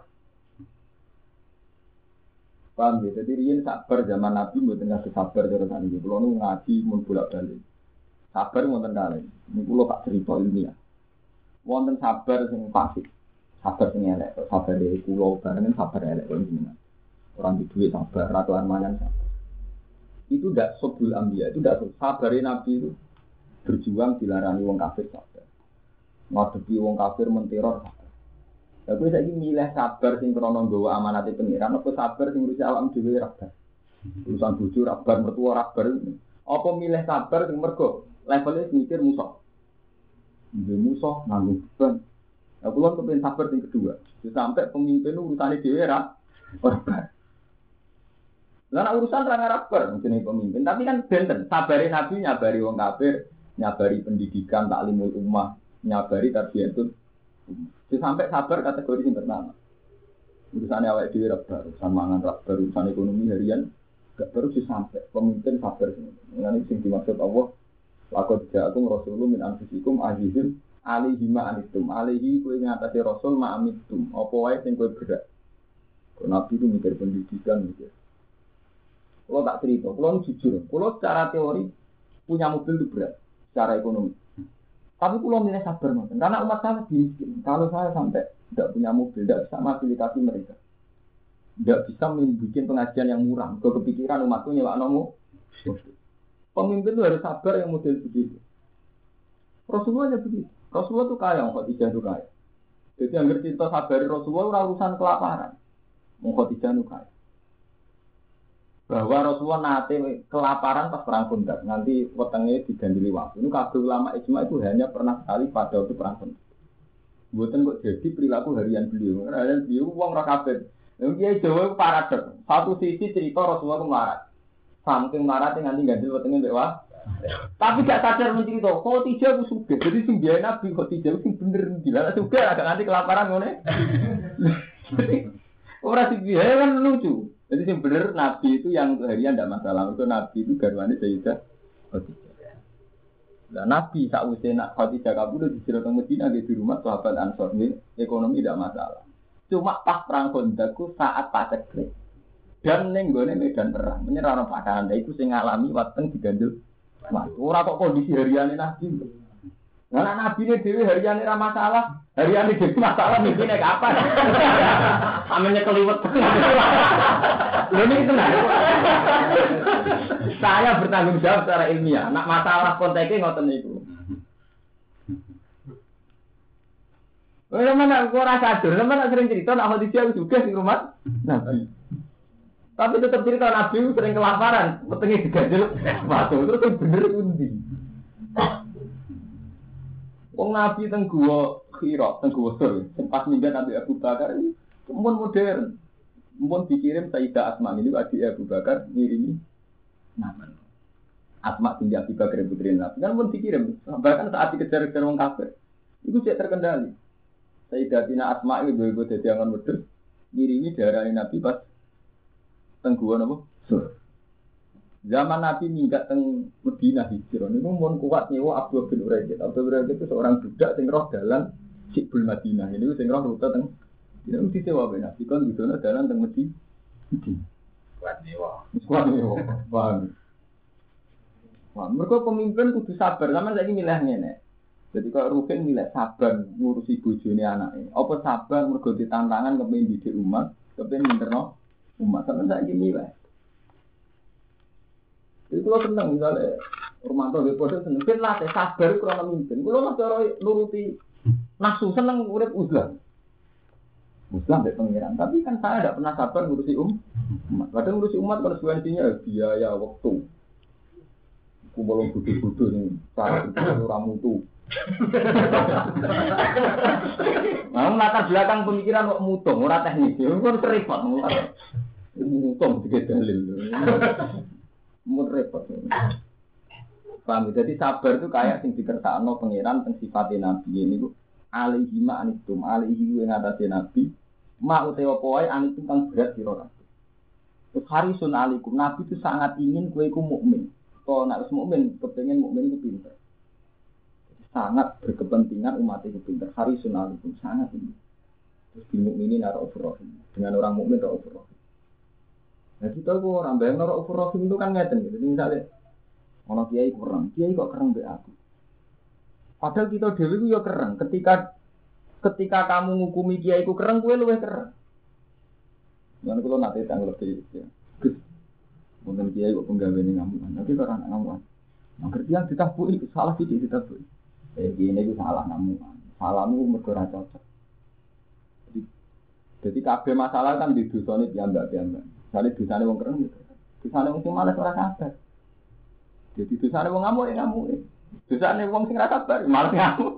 [SPEAKER 2] Paham ya? Jadi riyen sabar zaman Nabi mboten ngasih sabar cara sakniki. Kula nu ngaji mun bolak-balik. Sabar wonten kalih. Niku kula tak cerita ilmiah. Wonten sabar sing fasik. Sabar sing elek, sabar kula bareng sabar elek kok jenengan. Orang di duit sabar, ratu armanan sabar. Itu tidak sobul ambia, itu tidak sabarin Nabi itu berjuang dilarani wong kafir sabar. Ngadepi wong kafir menteror sabar. Tapi saya ini milih sabar sing krono nggawa amanate pengiran, apa sabar sing ngurusi awak dhewe rabar. Urusan bojo rabar, mertua rabar. Apa milih sabar sing mergo levelnya mikir musuh. Nggih musuh nanggung beban. Ya kula kepen sabar sing kedua. Sampai pemimpin urusane dhewe rabar. Lah urusan ra ngaraper jenenge pemimpin, tapi kan benten sabare Nabi nyabari wong kafir, nyabari pendidikan taklimul ummah, nyabari tarbiyatun. Sampai sabar kategori sing pertama. Urusane awake dhewe rabar, urusan mangan rabar, urusan ekonomi harian gak baru sampai pemimpin sabar. Ngene sing dimaksud Allah, laqad ja'akum rasulun min anfusikum azizun alaihi ma anittum. Alaihi kowe ngatasi rasul ma amittum. Apa wae sing kowe berat. Kok Nabi itu mikir pendidikan mikir. Kalau tak cerita, kalau jujur, kalau secara teori punya mobil itu berat, secara ekonomi. Tapi kalau milih sabar nonton, karena umat saya miskin. Kalau saya sampai tidak punya mobil, tidak bisa fasilitasi mereka, tidak bisa membuat pengajian yang murah. Kalau kepikiran umatku nyewa nomo, pemimpin itu harus sabar yang model begitu. Rasulullah aja begitu. Rasulullah itu kaya, Khadijah itu kaya. Jadi yang cerita sabar Rasulullah urusan kelaparan, Khadijah itu kaya. Bahwa Rasulullah nate kelaparan pas perang Khandaq, nanti wetenge digandili waktu. Ini kabeh ulama ijma itu hanya pernah sekali pada waktu perang Khandaq. Mboten kok jadi perilaku harian beliau. Harian beliau wong ra kabeh. Kiai Jawa paradok. Satu sisi cerita Rasulullah ku melarat. Saking melarat nganti gandel wetenge mbek wah. Tapi gak sadar mencerita, Khadijah ku sugih. Jadi sing biyen Nabi Khadijah sing bener gila sugih agak nganti kelaparan ngene. Ora sing biyen kan lucu. Jadi sing bener Nabi itu yang harian ndak masalah. Mergo Nabi itu garwane Sayyidah Khadijah. Lah Nabi sakwise nak Khadijah kabudut dicira teng Madinah di rumah sahabat Ansor nggih, ekonomi ndak masalah. Cuma pas perang Khandaq saat paceklik. Dan ning gone medan perang, menyerah ana padanan iku sing ngalami wateng digandel. Ora kok kondisi hariane Nabi. Nah Nabi ne dhewe hariane ra masalah, hariane dhewe masalah mikine kapan. Amene keliwet. Lho niki tenan. Saya bertanggung jawab secara ilmiah. Nak masalah konteke ngoten niku. Mana ora sadar, mana sering cerita nak Khadijah juga di rumah Nabi. Tapi tetap cerita Nabi sering kelaparan, petengnya digandel batu, terus bener undi. Wong Nabi teng gua Hira, teng gua Sur, sempat minggat Nabi Abu Bakar ini pun modern. Pun dikirim Sayyidah Asma ini adik Abu Bakar ngirimi nama. Asma binti Abu Bakar putri Nabi kan pun dikirim. Bahkan saat dikejar-kejar wong kafir, itu tidak terkendali. Sayyidatina Asma itu ibu dadi angon wedhus ngirimi darah Nabi pas tengguan apa? Sur. Zaman Nabi minggat teng Madinah hijrah niku mun kuat nyewa Abdul bin Uraid. Abdul Uraid itu seorang budak sing roh dalan Sibul Madinah. Ini sing roh rute teng ini mesti sewa ben Nabi kon didono dalan teng Madinah. Kuat nyewa. Kuat nyewa. Paham. Wah, mergo pemimpin kudu sabar. Sampeyan saiki milih ngene. Jadi kalau Rukin milih sabar ngurusi bojone anake. Apa sabar mergo ditantangan kepengin didik umat, kepengin minterno umat sampeyan saiki milih. Itu kalau seneng misalnya Romanto di pojok seneng, kan latih sabar kurang memimpin. Kalau mas cara nuruti nafsu seneng urip uzlah, uzlah dari pengiran. Tapi kan saya tidak pernah sabar ngurusi umat. Kadang ngurusi umat kalau sebenarnya biaya waktu. Aku belum butuh-butuh nih, cara orang mutu. Nah, latar belakang pemikiran kok mutung, ora teknis. Itu kan repot, mutung tiga dalil. Mun repot. Paham? Jadi sabar itu kayak sing dikersakno pangeran teng sifate nabi niku alaihi ma anitum alaihi ing atase nabi ma utawa poe anitum kang berat sira kabeh. Terus harisun alaikum nabi itu sangat ingin kowe iku mukmin. Kalau nek wis mukmin kepengin mukmin iku pinter. Sangat berkepentingan umat itu pinter. Harisun alaikum sangat ingin. Terus di mukminin raufur rahim. Dengan orang mukmin raufur rahim. Nah kita kok orang bayang norok ufurofim itu kan ngeten gitu. Jadi misalnya, kalau kiai kurang, kiai kok kereng be aku. Padahal kita dewi itu ya kereng. Ketika kamu ngukumi kiai ku kereng, kue luwih kereng. Jangan kalau nanti tanggal lebih, ya. Mungkin kiai kok penggawe ini ngamuan. Tapi kalau anak ngamuan, ngerti yang ditabui salah sih ditabui. Gini itu salah ngamuan. Salahmu mergora cocok. Jadi kabeh masalah kan di dosa ini piambak-piambak. Misalnya dosane wong kereng gitu. Dosane wong sing males ora sabar. Jadi dosane wong ngamuk ya ngamuk. Dosane wong sing ora sabar malah ngamuk.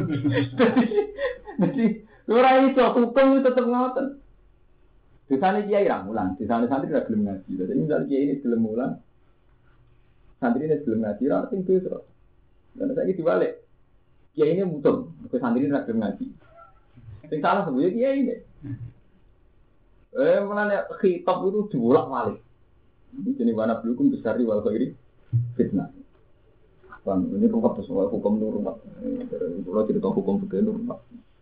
[SPEAKER 2] Jadi ora iso hukum tetep ngoten. Dosane kiai ra mulang, dosane santri ra gelem ngaji. Jadi misalnya kiai ini gelem mulang, santri ini gelem ngaji ra sing dosa. Dan saiki diwalik. Kiai ini mutung, ke santri ra gelem ngaji. Sing salah sebenarnya kiai ini. Mulanya khitab itu dibolak-balik. Ini jenis warna belukung besar di wal khairi fitnah. Bang, ini rumah soal hukum rumah. Kalau cerita hukum begini rumah.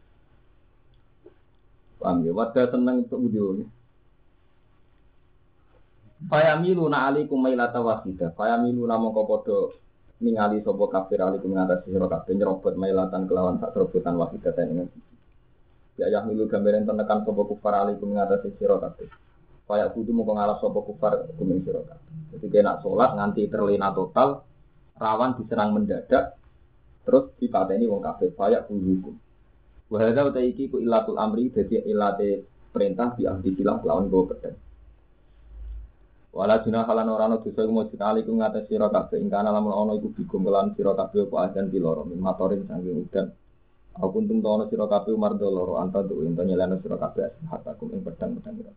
[SPEAKER 2] Bang, ya wadah senang untuk video. Fayamiluna alaikum mailata wahida. Fayamiluna mongko padha ningali sapa kafir alaikum ngatasi sira kabeh nyerobot mailatan kelawan sak serobotan wahida ten. Ya milu gambaran tenekan sapa kufar alaikum ngatasi sira kabeh. Kaya kudu mung ngalah sapa kufar kumen sira kabeh. Jadi kena salat nganti terlena total, rawan diserang mendadak, terus dipateni wong kabeh kaya hukum. Wa hadza uta iki ku ilatul amri dadi ilate perintah di ahli silah lawan go pedang. Wala junah halan ora ana dosa mujud alaikum ngatasi sira kabeh ing kana lamun ana iku bigum kelan sira kabeh apa ajan piloro min matorin saking udan. Aku untung tono sira kabeh mardo loro anta tu ento nyelana sira kabeh hatakum ing pedang-pedang ira.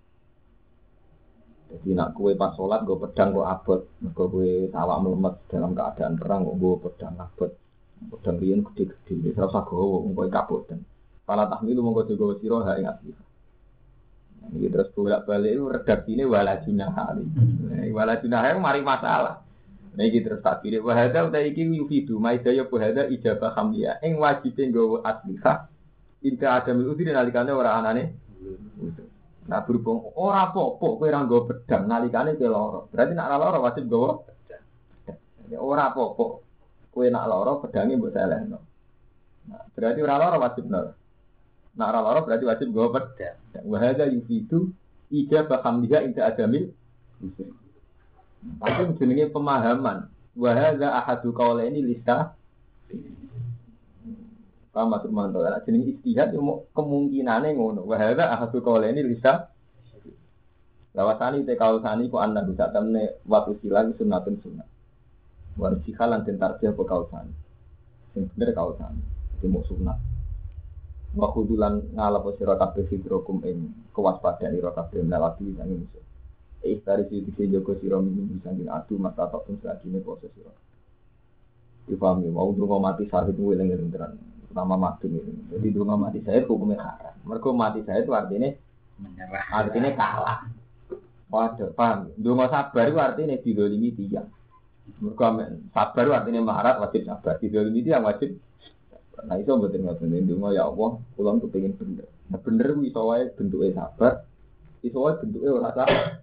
[SPEAKER 2] Jadi nak kue pas sholat gue pedang gue abot, gue awak melemet dalam keadaan perang gue pedang abot, pedang rian gede-gede, terus aku gue kaput dan pala tahmilu mongko jaga sira ha ing asli. Iki terus bolak-balik redaksi ini walajunah hari. Walajunah itu mari masalah. Iki terus tak kira wahada uta iki yufidu maidaya wahada ijabah hamliya ing wajibe nggawa asliha inta adamil udhi nalikane ora anane. Nah berhubung ora apa-apa kowe ora nggawa pedang nalikane kowe lara. Berarti nek ora lara wajib nggawa pedang. Ora apa-apa kowe nek lara pedange mbok selehno. Nah, berarti ora lara wajib lara. Nek ora lara berarti wajib nggawa pedang. Wa hadza yufidu ijabah hamliha inda adamil udhi. Tapi jenenge pemahaman. Wa hadza ahadu qaulaini lisa. Paham maksud mantu ana jeneng istihad yo kemungkinane ngono. Wa hadza ahadu qaulaini lisa. Lawasani te kausani ku anda bisa temne waktu silang sunnatun sunnah. Wa sikhalan den tarjih apa kausani. Sing bener kausani. Demo sunnah. Wa khudulan ngalap sira kabeh sidrokum ing kewaspadaan ira kabeh melati sang musuh. Dari situ jogo sira minum bisa ngin adu mata tok sakine poso sira. Dipahami mau ndonga mati syahid eling-eling tenan. Nama mati ini. Jadi ndonga mati syahid hukumnya haram. Mergo mati syahid itu artinya menyerah. Artinya kalah. Waduh, paham. Ndonga sabar itu artinya didolimi tiyang. Mergo sabar itu artinya maharat wajib sabar. Didolimi tiyang wajib. Nah iso mboten ngoten ndonga ya Allah, kula kepengin bener. Nah bener kuwi iso wae bentuke sabar. Iso wae bentuke ora sabar.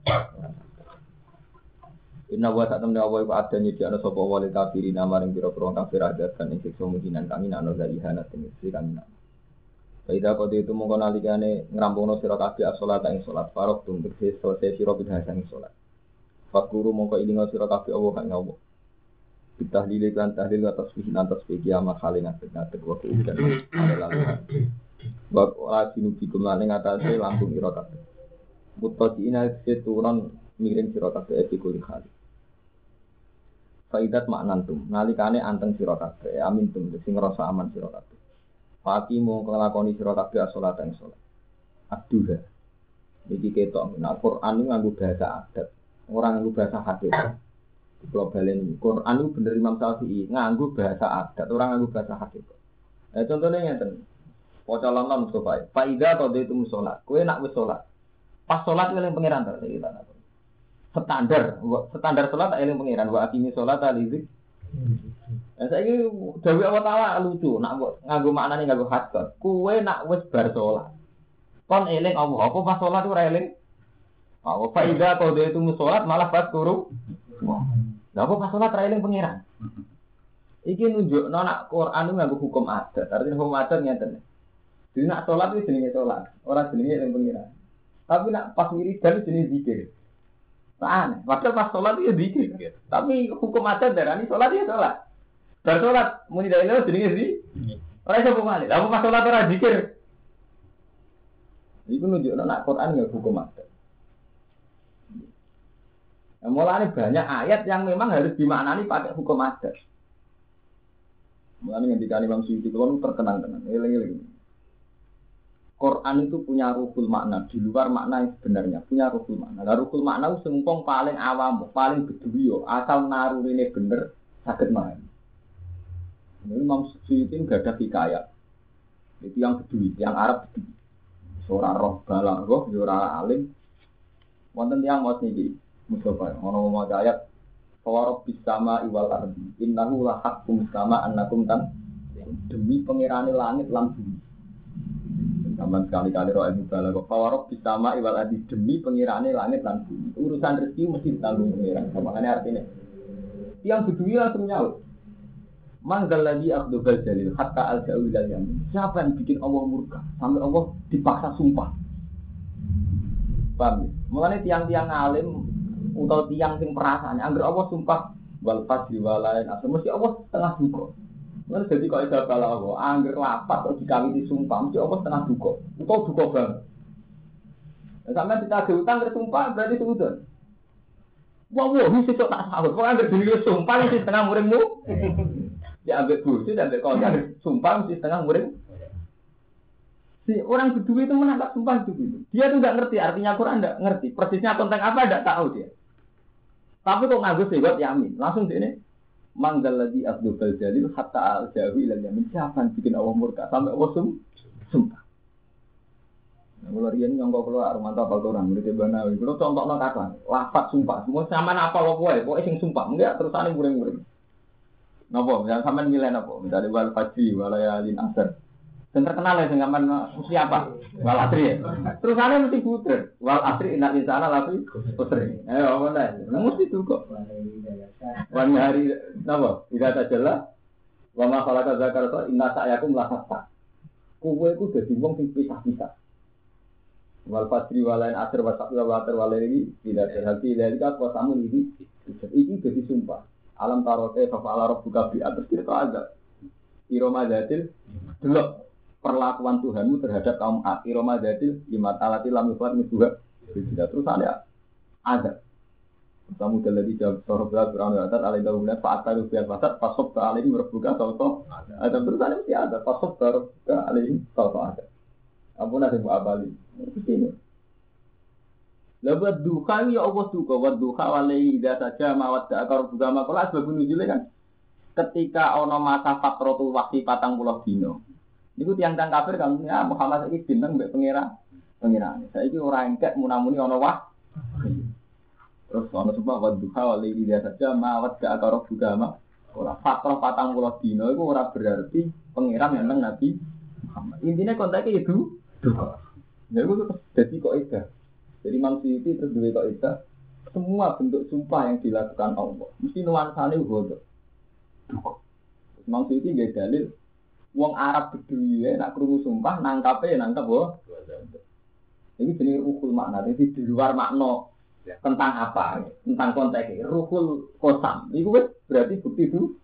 [SPEAKER 2] Inna wa ta'tamna wa iku adanya di ana sapa wali kafirin maring pira-pira kafir ajakan ing siksa mujinan kami ana dari hanat ing sing kami. Baida kode itu mongko nalikane ngrampungne sira kabeh salat ing salat farq tum tegese selesai sira bidhasan ing salat. Fakuru mongko ilinga sira kabeh Allah kang Allah. Bitahlil lan tahlil atas fi'lan tasbih kiamat halin atek wa kuudan adalah. Wa asinu bikum lan ing atase lambung ira kabeh. Mutaqina seturan miring sira kabeh iki kuli kali. Faidat maknantum nalikane anteng sira kabeh amin tum sing ngrasa aman sira kabeh. Fati mung nglakoni sira kabeh salat ing salat. Aduha. Iki ketok nek Quran nganggo bahasa adat, ora nganggo bahasa hadis. Kalau balen Quran itu bener Imam Syafi'i nganggo bahasa adat, ora nganggo bahasa hadis. Contohnya ngeten. Waca lan Mustafa. Faida qadaitu salat. Kowe nak wis salat. Pas salat eling pangeran ta kita. Standar salat tak eling pangeran wa akimi salat alizik. Saiki dawuh Allah Taala lucu, nak nganggo maknane nganggo hadis. Kowe nak wis bar salat. Kon eling Allah, apa pas salat ora eling? Apa faida qadaitu salat malah pas turu. Lah apa pas salat ra eling pangeran? Iki nunjukno nak Quran nganggo hukum adat. Artinya hukum adat ngeten. Jadi nak salat itu jenenge salat, ora jenenge eling pangeran. Tapi nak pas wiridan jenenge zikir. Aneh, padahal pas sholat itu zikir. Tapi hukum adat darani sholat ya sholat. Bar sholat muni dari lo jenenge zikir. Ora iso pemane. Lah pas sholat ora zikir. Iku nunjukno nak Quran ya hukum adat. Mulane banyak ayat yang memang harus dimaknani pakai hukum adat. Mulane ngendika Imam Suyuti kulo terkenang tenan. Eling-eling. Quran itu punya ruhul makna di luar makna yang sebenarnya punya ruhul makna. Lah ruhul makna itu sempong paling awam, paling beduwi asal narurine bener saged memahami. Ini Imam Suyuti enggak ada hikayat. Itu yang beduwi, yang Arab beduwi. Ora roh balaghah, ora alim. Wonten tiyang maos niki Mustafa ono maca ayat Fawarab bisama iwal ardi innahu la haqqum sama annakum tan demi pangerane langit lan bumi. Sampeyan sekali-kali roh ilmu balaghah Fawarab bisama iwal ardi demi pangerane langit lan bumi. Urusan rezeki mesti ditanggung pangeran. Makane artine yang beduwi langsung nyaut. Manggal ladzi akhdubal jalil hatta al-jaul yamin. Siapa yang bikin Allah murka sampai Allah dipaksa sumpah. Paham? Mulane tiang-tiang alim utawa tiang sing perasaan anggere Allah sumpah wal fadli walain asal mesti Allah setengah duka. Mulane dadi kok iso bala Allah anggere lapat kok dikawiti sumpah mesti Allah setengah duka. Utawa duka banget. Sampeyan ditagih utang terus sumpah berarti suudon. Wah, iki sesuk tak sahur. Kok anggere dhewe sumpah iki setengah muringmu. Dia ambil bojo, dia ambil kolgar, sumpah mesti setengah murid. Si orang kedua itu menangkap sumpah itu. Dia tuh nggak ngerti artinya Quran, nggak ngerti persisnya tentang apa, nggak tahu dia. Tapi kok nganggo sewot yamin, langsung dia ini manggal lagi Abdul Jalil hatta al-jawi ilan yamin. Siapa yang bikin Allah murka sampai Allah sumpah. Nah, kalau dia ini nyongkok keluar rumah apa orang murid Banawi, kalau contohnya kata lafaz sumpah, semua sama apa pokoknya sing sumpah, enggak terus ane murid-murid. Napa? Yang sampean milih napa? Misalnya wal fajri walayalin asr. Dan terkenal ya dengan mesti apa? Wal asri ya. Terus ada mesti puter. Wal asri inna insana lafi putri. Ayo mana? Mesti itu kok. Wan hari napa? Tidak tajalah. Wa ma khalaqa dzakara wa inna sa'yakum la hatta. Kowe iku dadi wong sing pisah-pisah. Wal fajri walain asr wa sa'ya wa atar walaini tidak terhati dari apa samun iki. Iki dadi sumpah. Alam tarote fa ala rabbuka bi atas kita ada. Iromadatil delok perlakuan Tuhanmu terhadap kaum Ad, Iromadatil limat alati lam yufat juga tidak terus ada. Kamu telah dijawab soroblah berang atas alai daulat faat tahu biar pasat pasok ke alai merbuka sauto ada terus ada mesti ada pasok ke alai sauto ada. Ampun ada buat abali. Ini. Lebat duka ya Allah duka, buat duka walai ida saja mawat akar juga makolah sebab nuzulnya kan. Ketika ono masa fatrotul waktu 40 dino. Niku tiang-tiang kafir kan ya Muhammad iki bintang mbek pengira. Saiki ora engkek munamuni ana wah. Terus ana sebab wadduha wali dia saja mawat ga akaro agama. Ora fatrah 40 dina iku ora berarti pengiran yang Nabi Muhammad. Intine kontake itu duka. Ya iku dadi kok ida. Jadi manusia itu terus duwe kok ida. Semua bentuk sumpah yang dilakukan Allah mesti nuansane uga. Duka. Manusia itu nggih dalil wong Arab bedui ya, nak krungu sumpah nangkape nangkap boh. Ini jenis ruhul makna, jadi di luar makna tentang apa, tentang konteks ruhul kosam. Ini berarti bukti itu.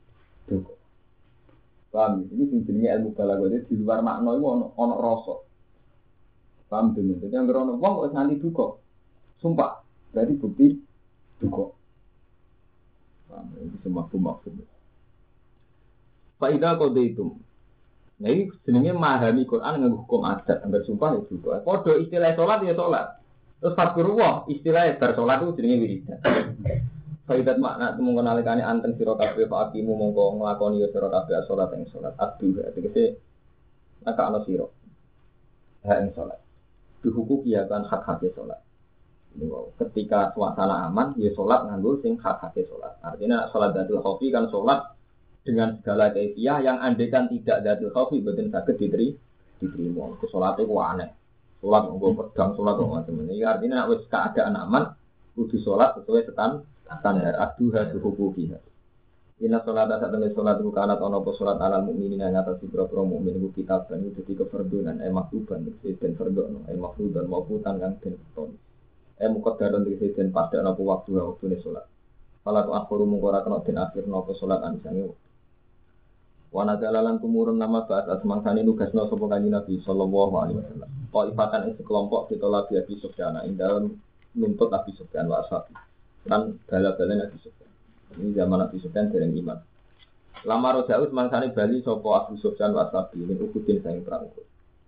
[SPEAKER 2] Paham? Ini jenisnya ilmu balaghah di luar makna itu ono rasa. Paham dene? Jadi yang berono wong kok nganti duka. Sumpah, berarti bukti duka. Paham? Ini semua maksud. Faidah kode itu. Nah ini jenenge memahami Quran dengan hukum adat, anggar sumpah itu juga. Podo istilah sholat ya sholat. Terus fadkurullah istilah bar sholat itu jenenge wiridan. Faidat makna itu mengenalikannya anteng sira kabeh Pak Akimu mongko nglakoni ya sira kabeh sholat ing sholat abdu. Tegese nek ana sira. Ha ing sholat. Dihukum ya kan hak-hak sholat. Ketika suasana aman ya sholat nganggo sing hak-hak sholat. Artinya sholat dadul khaufi kan sholat dengan segala kefiah yang andaikan tidak datul khaufi boten saged diterima. Salat iku aneh. Salat nggo pedang, salat kok macam ini. Artinya nek wis keadaan aman kudu salat sesuai standar aduha hukuki. Inna sholata satene salat iku kanat ana apa salat alal mukminin ing atas sira-sira mukmin iku kitab dan itu dadi kefarduan maktuban den fardono maktuban mauputan kang den ton. Muqaddaron dadi den pada ana waktu waktune salat. Salat akhir mung ora kena den akhir napa salat anisane. Wana jalalan tumurun nama bahas asmangsani nugasno sapa kanjeng Nabi sallallahu alaihi wasallam. Qaifatan ing sekelompok ditolak Abi Sufyan ing dalem nuntut Abi Sufyan wa ashabi. Lan bala-bala Abi Sufyan. Ini zaman Abi Sufyan dereng iman. Lama rojaus mangsani bali sapa Abu Sufyan wa ashabi min ukudin saing perang Uhud.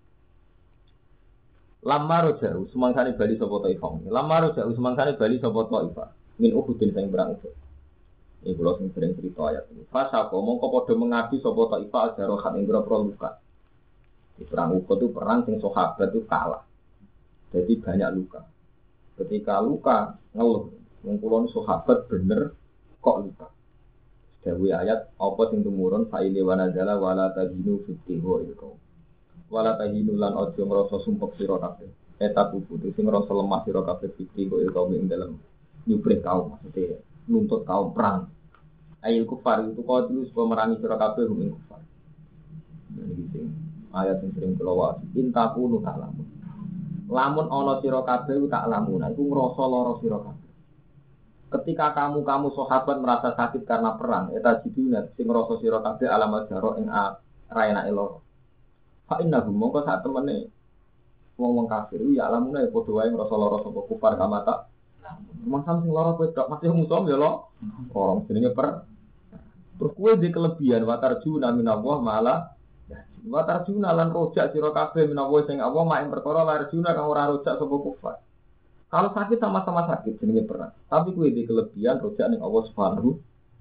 [SPEAKER 2] Lama rojaus mangsani bali sapa Taifah. Lama rojaus mangsani bali sapa Taifah min ukudin saing perang Uhud. Ini kalau sering cerita ayat ini. Fasa kok mongko podo mengabdi sapa Taifah jarohat ing grogro luka. Di perang Uhud itu perang sing sahabat itu kalah. Jadi banyak luka. Ketika luka ngeluh, wong kula sahabat bener kok luka. Dewe ayat apa sing tumurun faile wanadzala wala tahinu fitiho iku. Wala tahinu lan aja ngrasa sumpek sira kabeh. Eta putu sing ngrasa lemah sira kabeh fitiho iku ing dalem nyubrih kaum maksudnya nuntut kaum perang. Ayat kufar itu kau dulu supaya merangi sira kabeh hum kufar. Ini sing ayat sing sering kula waca. Intakunu ta'lamun. Lamun ana sira kabeh tak lamun, iku ngrasa lara sira kabeh. Ketika kamu sahabat merasa sakit karena perang, eta jiduna sing ngrasa sira kabeh alamat jaro ing raenake lara. Fa innahu mongko sak temene wong-wong kafir ya alamune padha wae ngrasa lara sapa kufar kamata. Masam sing lara kowe tok masih musuh ya lo. Orang jenenge Terus kowe di kelebihan watarjuna minallah malah watarjuna lan rojak sira kabeh minallah sing Allah mak perkara warjuna kang ora rojak sapa kufar. Kalau sakit sama-sama sakit jenenge perang. Tapi kowe di kelebihan rojak ning Allah Subhanahu.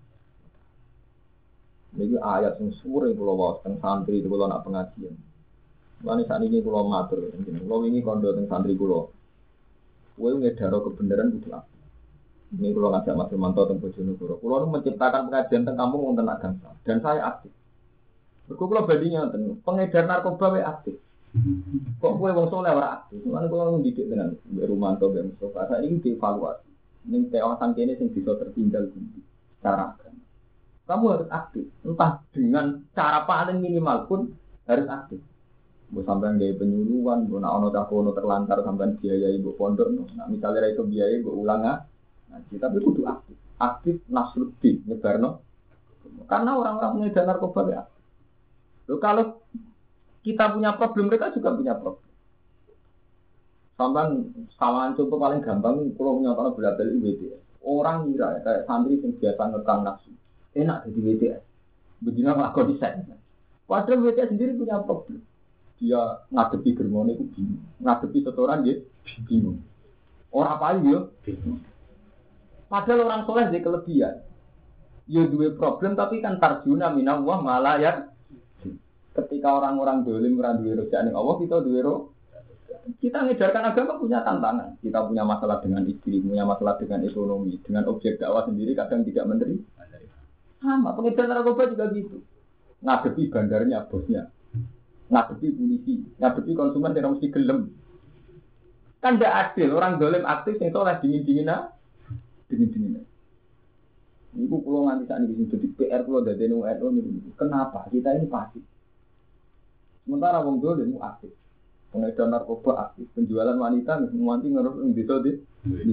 [SPEAKER 2] Niki ayat sing suwur kula waos teng santri kula nak pengajian. Lan sakniki kula matur jeneng kula wingi kandha teng santri kula. Kowe ngedaro kebenaran kudu apik. Ini kula ngajak Mas Manto teng Bojonegoro. Kula menciptakan pengajian teng kampung wonten agama dan saya aktif. Mergo kula bandinge ngoten, pengedar narkoba wae aktif. Kok kowe wong saleh ora aktif? Lan kula ndidik tenan Mbak Rumanto Mbak Mustofa. Saiki dievaluasi. Ning kawasan kene sing bisa tertinggal pundi cara agama. Kamu harus aktif, entah dengan cara paling minimal pun harus aktif. Mbok sampean gawe penyuluhan, mbok ana cakono terlantar sampean biayai mbok pondok, nah misalnya ra itu biayai mbok ulang kita kudu aktif. Aktif nasruddin nyebarno. Karena orang-orang pengedar narkoba ya. Loh kalau kita punya problem, mereka juga punya problem. Sampean samaan contoh paling gampang kalau nyatane bela-beli WTS. Orang ngira ya, kayak santri yang biasa ngekang nafsu. Enak jadi WTS. Begini ngelakon desain. Padahal WTS sendiri punya problem. Dia ngadepi germone itu bingung. Ngadepi setoran dia bingung. Orang apa ya? Bingung. Padahal orang soleh dia kelebihan. Ya dua problem tapi kan tarjuna minallah malah ya. Ketika orang-orang dolim randuwe rojak ning Allah, kita duwe kita ngejarkan agama punya tantangan. Kita punya masalah dengan istri, punya masalah dengan ekonomi, dengan objek dakwah sendiri kadang tidak menerima. Sama, pengedar narkoba juga gitu. Ngadepi bandarnya, bosnya. Ngadepi polisi, ngadepi konsumen yang mesti gelem. Kan tidak adil, orang dolim aktif yang soleh dingin-dinginan. Dingin-dinginan. Ini kalau nganti saat ini jadi PR kalau dari NU kenapa? Kita ini pasif. Sementara wong dolim aktif. Pengedar narkoba aktif, penjualan wanita nganti ngerus bisa di.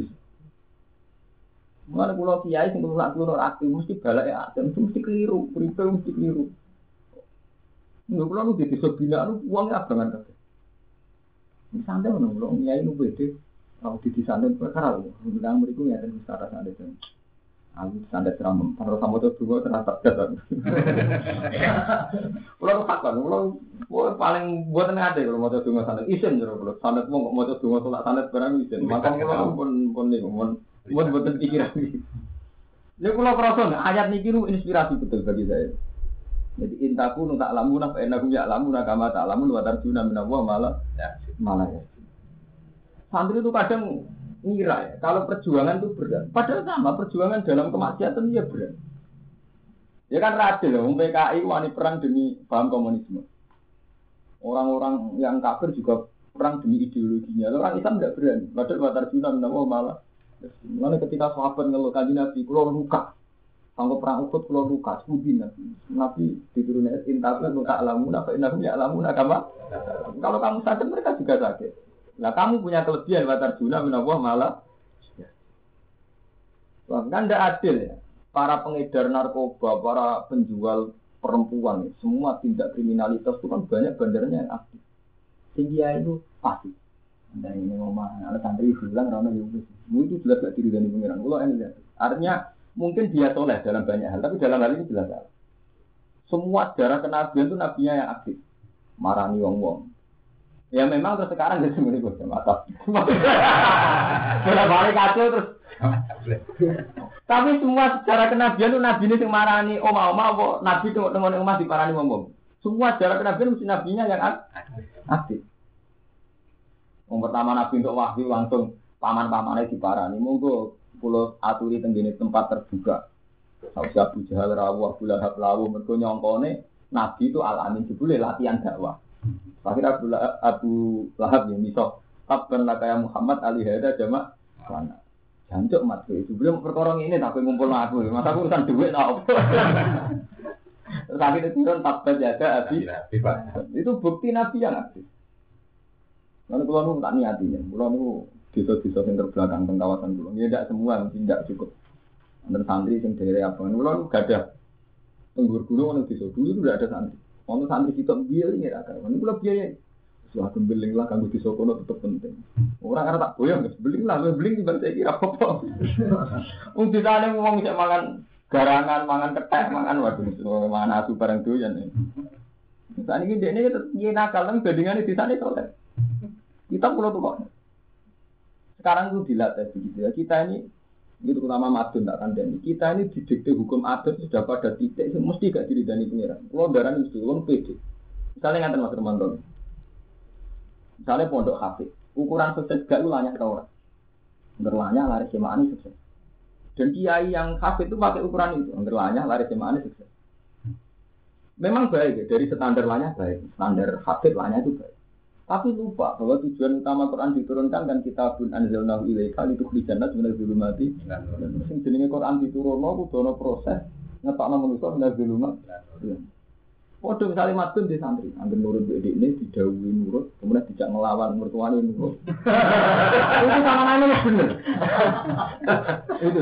[SPEAKER 2] Mana pulau kiai sing kulo aktif mesti balake aktif mesti keliru, uripe mesti keliru. Nggak pulau nu di desa binaan uangnya abangan kabeh. Santai ono pulau kiai nu beda. Kalau di desa santai perkara lho, bilang mriku ngeten wis cara santai. Aku santai seram, kalau sama tuh dua terasa dasar. Pulau fakon, pulau paling buat ngade kalau mau tuh santai isen jero pulau santai mau tuh sholat santai barang isen. Maka pulau pun nih buat pikiran ini. Jadi kalau perasaan ayat ini itu inspirasi betul bagi saya. Jadi intaku tak lamun apa enakum ya lamun agama tak lamun watarjuna minallah malah ya. Santri itu kadang ngira ya kalau perjuangan itu berat. Padahal sama perjuangan dalam kemaksiatan ya berat. Ya kan radil ya, PKI wani perang demi paham komunisme. Orang-orang yang kafir juga perang demi ideologinya. Orang Islam tidak berani. Padahal watarjuna minallah malah. Mana ketika sahabat ngeluh kanjeng Nabi, kulo luka, sanggup perang Uhud kulo luka, sudi Nabi diturunkan intaku luka alamun, apa inakum ya alamun agama. Kalau kamu sakit mereka juga sakit. Nah kamu punya kelebihan watarjuna minallah malah. Kan tidak adil ya. Para pengedar narkoba, para penjual perempuan, semua tindak kriminalitas itu kan banyak bandarnya yang aktif. Sehingga itu pasti. Anda ini ngomong, ada santri bilang rana juga. Itu jelas gak diri dari pengiran. Kalau ini lihat, artinya mungkin dia soleh dalam banyak hal, tapi dalam hal ini jelas salah. Semua sejarah kenabian itu nabinya yang aktif, marani wong-wong. Ya memang terus sekarang jadi semuanya gue mata. Sudah balik kacau terus. Tapi semua sejarah kenabian itu nabi ini yang marani oma-oma, nabi tengok-tengok emas di parani wong-wong. Semua sejarah kenabian mesti nabinya yang aktif. Yang pertama Nabi untuk wahyu langsung paman-pamannya diparani. Monggo pulau aturi tenggine tempat terbuka. Sausya Abu Jahal rawuh, Abu Lahab rawuh. Mergo nyongkone Nabi itu alamin jebule latihan dakwah. Akhirnya Abu Lahab yang misal tabban lakaya Muhammad alihada jamak mana. Jancuk mat itu belum perkara ini tapi ngumpul aku. Masa aku urusan duit tak apa. Terus akhirnya turun tabban jaga Abi. Itu bukti Nabi yang aktif. Lalu kalau nu tak niatinya, kalau nu desa-desa yang terbelakang teng kawasan pulau, ya tidak semua mungkin tidak cukup. Ada santri yang dari apa? Kalau nu gak ada tenggur gunung, nu desa dulu itu tidak ada santri. Kalau santri kita biaya ini ada, kalau kalau biaya, suatu beling lah kanggo desa kono tetap penting. Orang karena tak boyong, beling lah, beling di balik kira apa? Untuk sana ngomong bisa makan Garangan mangan kethek, mangan waduh, mangan asu bareng doyan. Saat ini dia ini nakal, tapi bandingannya di sana soleh. Kita pulau tuh kok. Sekarang itu dilatih begitu ya. Kita ini, itu utama madun tak kandani. Kita ini didikte hukum adat sudah pada titik, mesti gak diridani pengiran. Kalau darah ini mesti, orang pede. Misalnya ngantar Mas Romanto. Misalnya pondok hafid, ukuran sukses gak lu lanyah tau orang. Ngerlanya lari semaan sukses. Dan kiai yang hafid itu pakai ukuran itu, ngerlanya lari semaan sukses. Memang baik ya, dari standar lanya baik, standar hafid lanya itu baik. Tapi lupa bahwa tujuan utama Quran diturunkan kan kitabun anzalnahu ilaika litukhrijan nas minadh dhulumati. Sing jenenge Quran diturunno kudu ana proses ngetokno manusa minadh dhulumat. Padha misale madun di santri, anggere nurut dhek ini didhawuhi nurut, kemudian dijak ngelawan mertuane nurut. Itu samanane bener. Itu.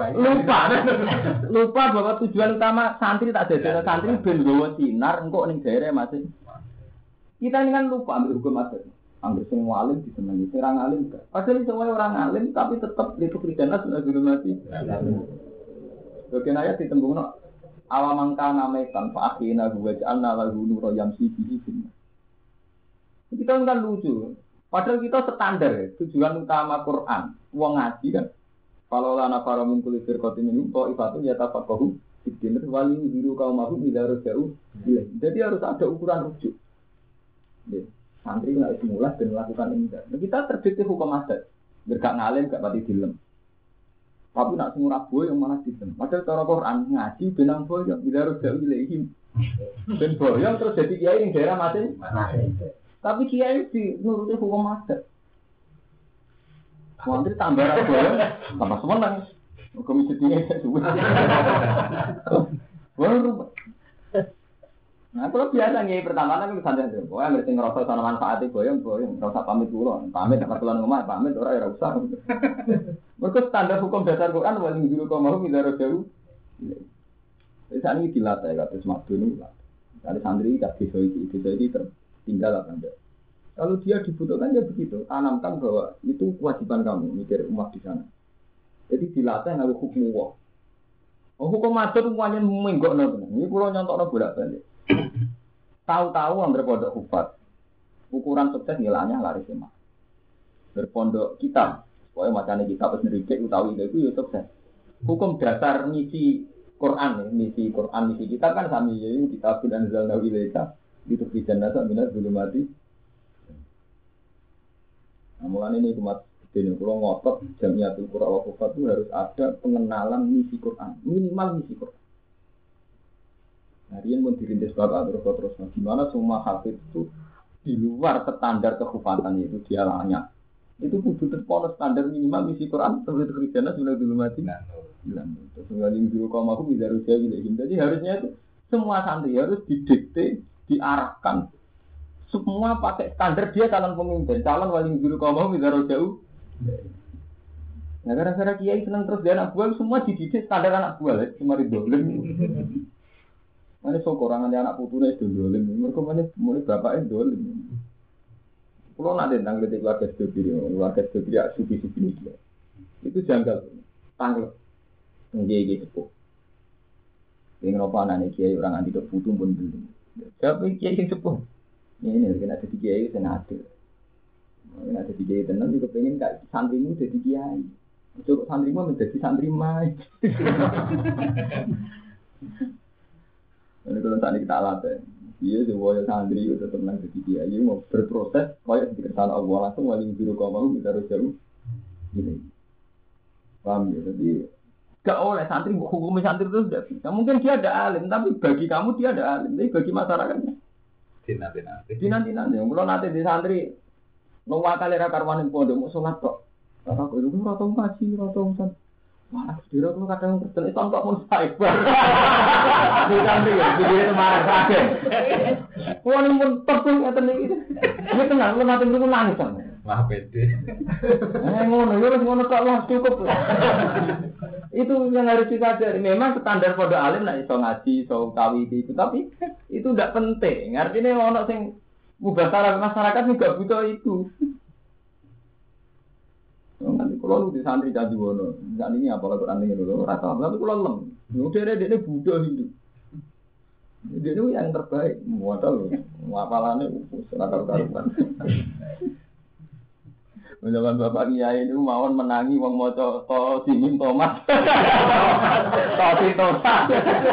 [SPEAKER 2] Lupa bahwa tujuan utama santri tak dadekno santri ben nggawa sinar engko ning daerah masing. Kita ini kan lupa ambil hukum adat. Ambil semua alim disenangi, orang alim enggak. Padahal semua orang alim tapi tetap itu kriteria sudah dulu mati. Bagian ayat ditembungno awamangka namekan fa akhina huwa ja'alna lahu nura yamsi bihi fin. Kita kan lucu. Padahal kita standar ya, tujuan utama Quran. Wong ngaji kan. Kalau lana para min kulli firqatin minhum ta'ifatun yatafaqahu fi din wali biru qaumahum ila rajau. Jadi harus ada ukuran rujuk. Ya, santri nggak mulai dan melakukan ini. Nah, kita terdikte hukum adat. Bergak ngalim gak pati dilem. Tapi nak semurah boy yang malah dilem. Padahal cara Quran ngaji benang boyong bila harus jauh ilahim. Ben boyong terus jadi kiai yang daerah masing. Tapi kiai di nuruti hukum adat. Santri tambah boyong, tambah semenang. Komisi tinggi suwe. Baru. Nah, kalau biasa nih pertama kan santai aja. Pokoknya ngerti ngerasa sana manfaatnya boyong, ngerasa pamit dulu. Pamit apa keluar rumah, pamit orang yang usah. Mereka standar hukum dasar Quran wali dulu kau mau minta jauh. Jadi saat ini dilatih kata semadu ini. Dari santri tak bisa ini tertinggal apa enggak. Kalau dia dibutuhkan ya begitu. Tanamkan bahwa itu kewajiban kamu mikir umat di sana. Jadi dilatih ngaku hukum Allah. Hukum adat semuanya menggok nabi. Ini pulau nyontok nabi bolak-balik. Tahu-tahu ambil pondok hufat. Ukuran sukses nilainya lari semua. Berpondok kitab. Pokoknya macamnya kitab sendiri utawi itu ya sukses. Hukum dasar misi Quran misi kitab kan sami yaitu kitabun anzalnahu ilaika litukhrijan nasa minadh dhulumati. Nah, mulane ini umat dene kula ngotot Jamiatul Qur'an wa Hufat itu harus ada pengenalan misi Quran, minimal misi Quran. Harian pun dirintis bapak terus gimana semua hafid itu di luar standar kehufatan itu dia layak. Itu kudu terpolos standar minimal misi Quran seperti kerjanya sudah dulu mati. Bilang terus ngalih dulu kaum aku bisa rusia gitu. Jadi harusnya itu semua santri harus didikte, diarahkan. Semua pakai standar dia calon pemimpin, calon wali guru kaum aku bisa rusia. Nah gara-gara kiai senang terus dia anak buah semua dididik standar anak buah, cuma dolim. Mana sokorangan anak putunya itu dolim, mereka mulai bapaknya dolim. Kalau nak tentang keluarga studi ya sufi-sufi ini dia. Itu janggal, tanggal, nggih sepuh. Yang apa nih kiai orang anti putu pun belum. Siapa kiai yang sepuh? Ini kena jadi kiai senadil. Kena jadi kiai tenang juga pengen kayak santrimu jadi kiai. Coba santrimu menjadi santri mai. Ini kalau tadi kita latih. Iya, sebuah santri itu tenang jadi kiai mau berproses, kayak di kesalahan Allah langsung wali biru kau mau kita harus jauh. Ini, paham ya? Jadi gak oleh santri hukum santri itu sudah bisa. Mungkin dia ada alim, tapi bagi kamu dia ada alim, tapi bagi masyarakatnya nanti. Kalau nanti di santri nomor kali rakarwan yang pondok mau sholat kok, aku itu rotong kasih rotong san. Wah, dira tuh kadang terus tontok mun cyber. Di santri ya, di itu marah kaget. Wah, mun terus ngeten iki. Iki tenang, lu nanti mrene nangis kan.
[SPEAKER 3] Wah, pede.
[SPEAKER 2] Ngono, yo ngono kok wah cukup. Itu yang harus disadari. Memang standar pondok alim nek iso ngaji, iso kawi itu, tapi itu enggak penting. Artinya ono sing mubasarah masyarakat juga butuh itu. Nanti Kulo nu di santri Candi Wono. Saat ini apa Quran ini dulu rata tapi kulo lem. Udah dia Buddha Hindu. Dia itu yang terbaik. Modal hafalannya seragam karuan. Menjalan bapak kiai itu mawon menangi wong maca to Simin Thomas. Tosi Thomas.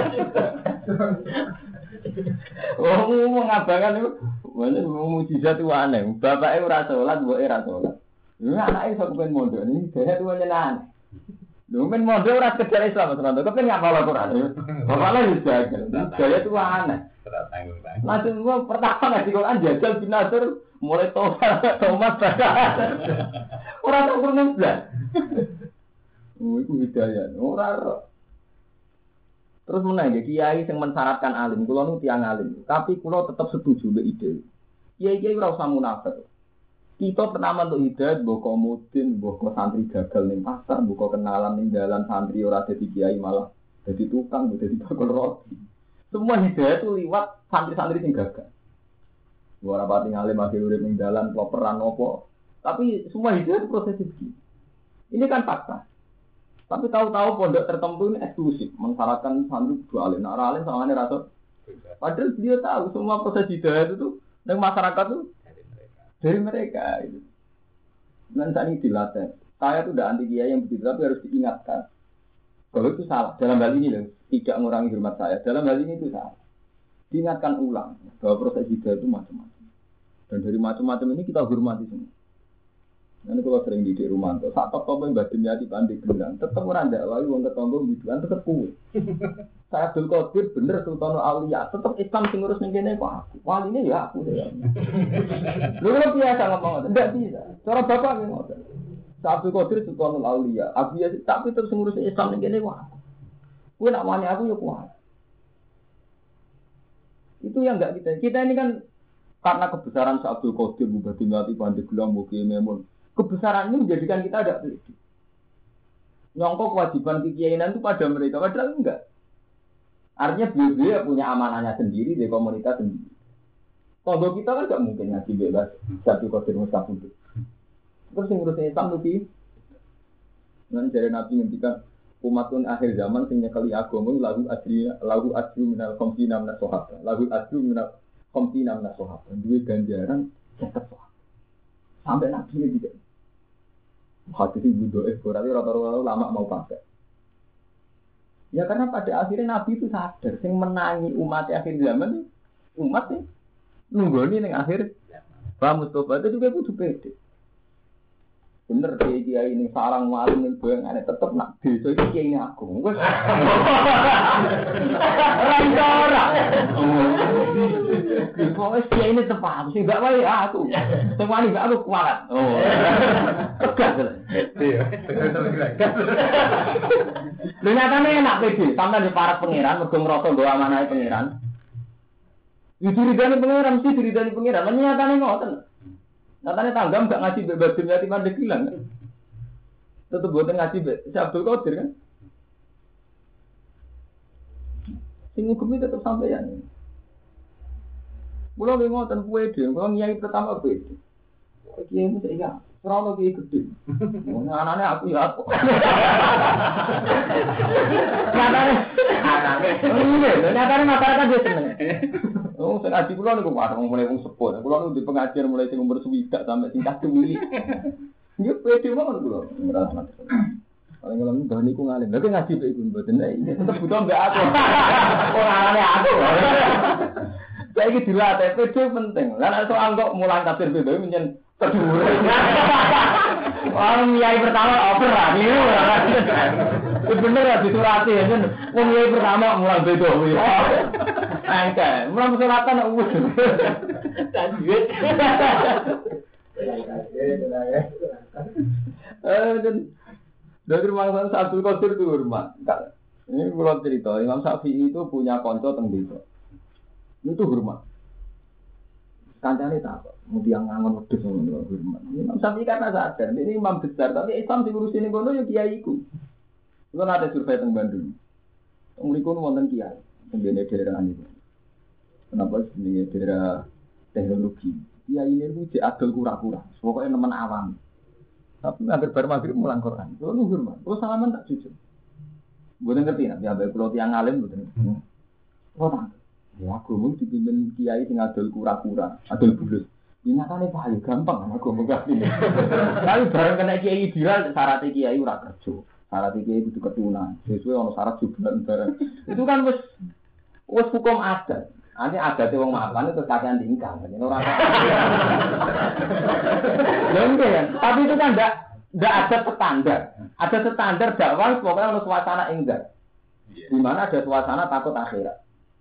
[SPEAKER 2] Oh mengabangan itu. Mana mujizat itu aneh. Bapaknya ora salat, mboke ora salat. Lha anake iso kepen mondok iki dhewe tuwa nyenengan. Lho men mondok ora sekedar Islam tenan. Kepen ngapal Al-Qur'an. Bapaknya wis jagal. Dhewe tuwa aneh. Ora tanggung-tanggung. Langsung gua pertama ngaji Quran jajal bin Nasr mulai Thomas ora tau kurang blas. Oh iku hidayah. Ora. Terus meneh kiai sing mensyaratkan alim, kula nu tiyang alim, tapi kula tetap setuju mbek ide. Kiai-kiai ora usah munafik. Kita pertama untuk hidayat, mbok mudin, mbok santri gagal ning pasar, mbok kenalan ning dalan santri ora dadi kiai malah dadi tukang, dadi bakul roti. Semua hidayat itu liwat santri-santri sing gagal. Ora pati ngalim akhir urip ning dalan kloperan opo. Tapi semua hidayat itu proses begini. Ini kan fakta. Tapi tahu-tahu pondok tertentu ini eksklusif, mensyaratkan santri dua alim. Nah, alim sama ini rasa. Padahal dia tahu semua proses hidayat itu dengan masyarakat itu dari mereka. Itu. Dan saat ini dilatih. Saya itu udah anti kiai yang begitu, tapi harus diingatkan. Kalau itu salah. Dalam hal ini loh, tidak mengurangi hormat saya. Dalam hal ini itu salah. Diingatkan ulang bahwa proses hidayat itu macam-macam. Dan dari macam-macam ini kita hormati semua. Nanti kalau sering di rumah, saat top-top yang badannya di pandai bilang, tetap orang dakwah, orang ketonggo biduan, tetap kue. Saya Abdul Qadir bener Sultanul Aulia, tetap Islam sing ngurus ning kene kok aku. Wali ini ya aku ya. Lu kan biasa ngomong, enggak bisa. Cara bapak ki ngoten. Saya Abdul Qadir Sultanul Aulia, aku ya tapi terus ngurus Islam ning kene kok aku. Kowe nak wani aku ya kuat. Itu yang enggak kita. Kita ini kan karena kebesaran Syekh Abdul Qadir Bupati Ngati Pandeglang Mugi Memun. Kebesaran ini menjadikan kita ada pede. Nyongkok kewajiban kekiainan itu pada mereka, padahal enggak. Artinya beliau punya amanahnya sendiri di komunitas sendiri. Kalau kita kan enggak mungkin ngaji bebas satu kodir mustaqim. Terus yang ngurusin Islam lebih. Nanti dari Nabi ngendikan umatun akhir zaman sing nyekeli agama lagu asri minal khamsina minas sahabat. Lagu asri minal khamsina minas sahabat. Duwe ganjaran tetep sampai Nabi ini tidak. Hadis ibu doa berarti rata-rata lama mau pakai. Ya karena pada akhirnya Nabi itu sadar, sing menangi umat akhir zaman umat nih nunggoni ning akhir. Pak Mustafa itu juga kudu pede. Bener dia ini sarang maling ning boyong ane tetep nak desa iki kiai aku. Wes. Ora. Wes kiai ini tepat, sing gak wae aku. Sing wani gak aku kualat. Oh. Tegas. Iya. Lho nyatane enak pede, sampeyan di para pangeran mergo ngrasa nggo amanahe pangeran. Diridani pangeran mesti diridani pangeran. Nyatane ngoten. Nyatane tanggam gak ngaji bebas dunia di Pandeglang kan. Tetep boten ngaji Syekh Abdul Qadir kan. Sing hukum tetep sampeyan. Kulo nggih ngoten pede, kulo nyai pertama pede. Kiai mu saya ora kiai gede. Anane aku ya aku. Nyatane masyarakat dia seneng. Oh, sing ngaji kula niku warung mulai wong sepuh. Kula niku di pengajian mulai sing umur 1 sampai sing kadung wili. Nggih pede mawon kula. Paling kalau nggak niku ngalim, tapi ngaji be iku mboten. Tetep butuh mbek aku. Ora anane aku. Saya iki dilatih pede penting. Lah nek soal kok mulang tafsir beda menyen kedua. Orang kiai pertama over lah, ini bener ya disurati ya, orang kiai pertama mulang beda. Angka, mulang suratan umus. Lanjut. Dari rumah Abdul Qadir itu rumah. Ini kalau cerita, Imam Syafi'i itu punya konco tenggelam. Itu hormat. Kancane tak kok, mutiang ngangon wedhus ngono hormat. Imam Syafi'i karena sadar, ini imam besar, tapi Islam diurusin ning kono ya kiaiku. Kulo nate survei teng Bandung. Mriku wonten kiai, teng daerah niku. Kenapa jenenge daerah teknologi? Kiai ini ku cek adol kura-kura, pokoke nemen awam. Tapi hampir bar maghrib mulang Quran. Kulo luhur mah. Kulo salaman tak jujur. Mboten ngerti nek ambek kulo tiyang alim mboten. Kulo tak. Ya aku mung dipimpin kiai sing adol kura-kura, adol bulus. Nyatane paling gampang aku ngerti. Tapi bareng kena kiai viral syarat kiai ora kerja. Syarat kiai kudu ketunan. Sesuai ono syarat jubalan bareng. Itu kan wis hukum adat. Ane adate wong mapan itu kakean tingkang. Ora. Ya, tapi itu kan enggak ada standar. Ada standar dakwah pokoknya ono suasana enggak. Di mana ada suasana takut akhirat.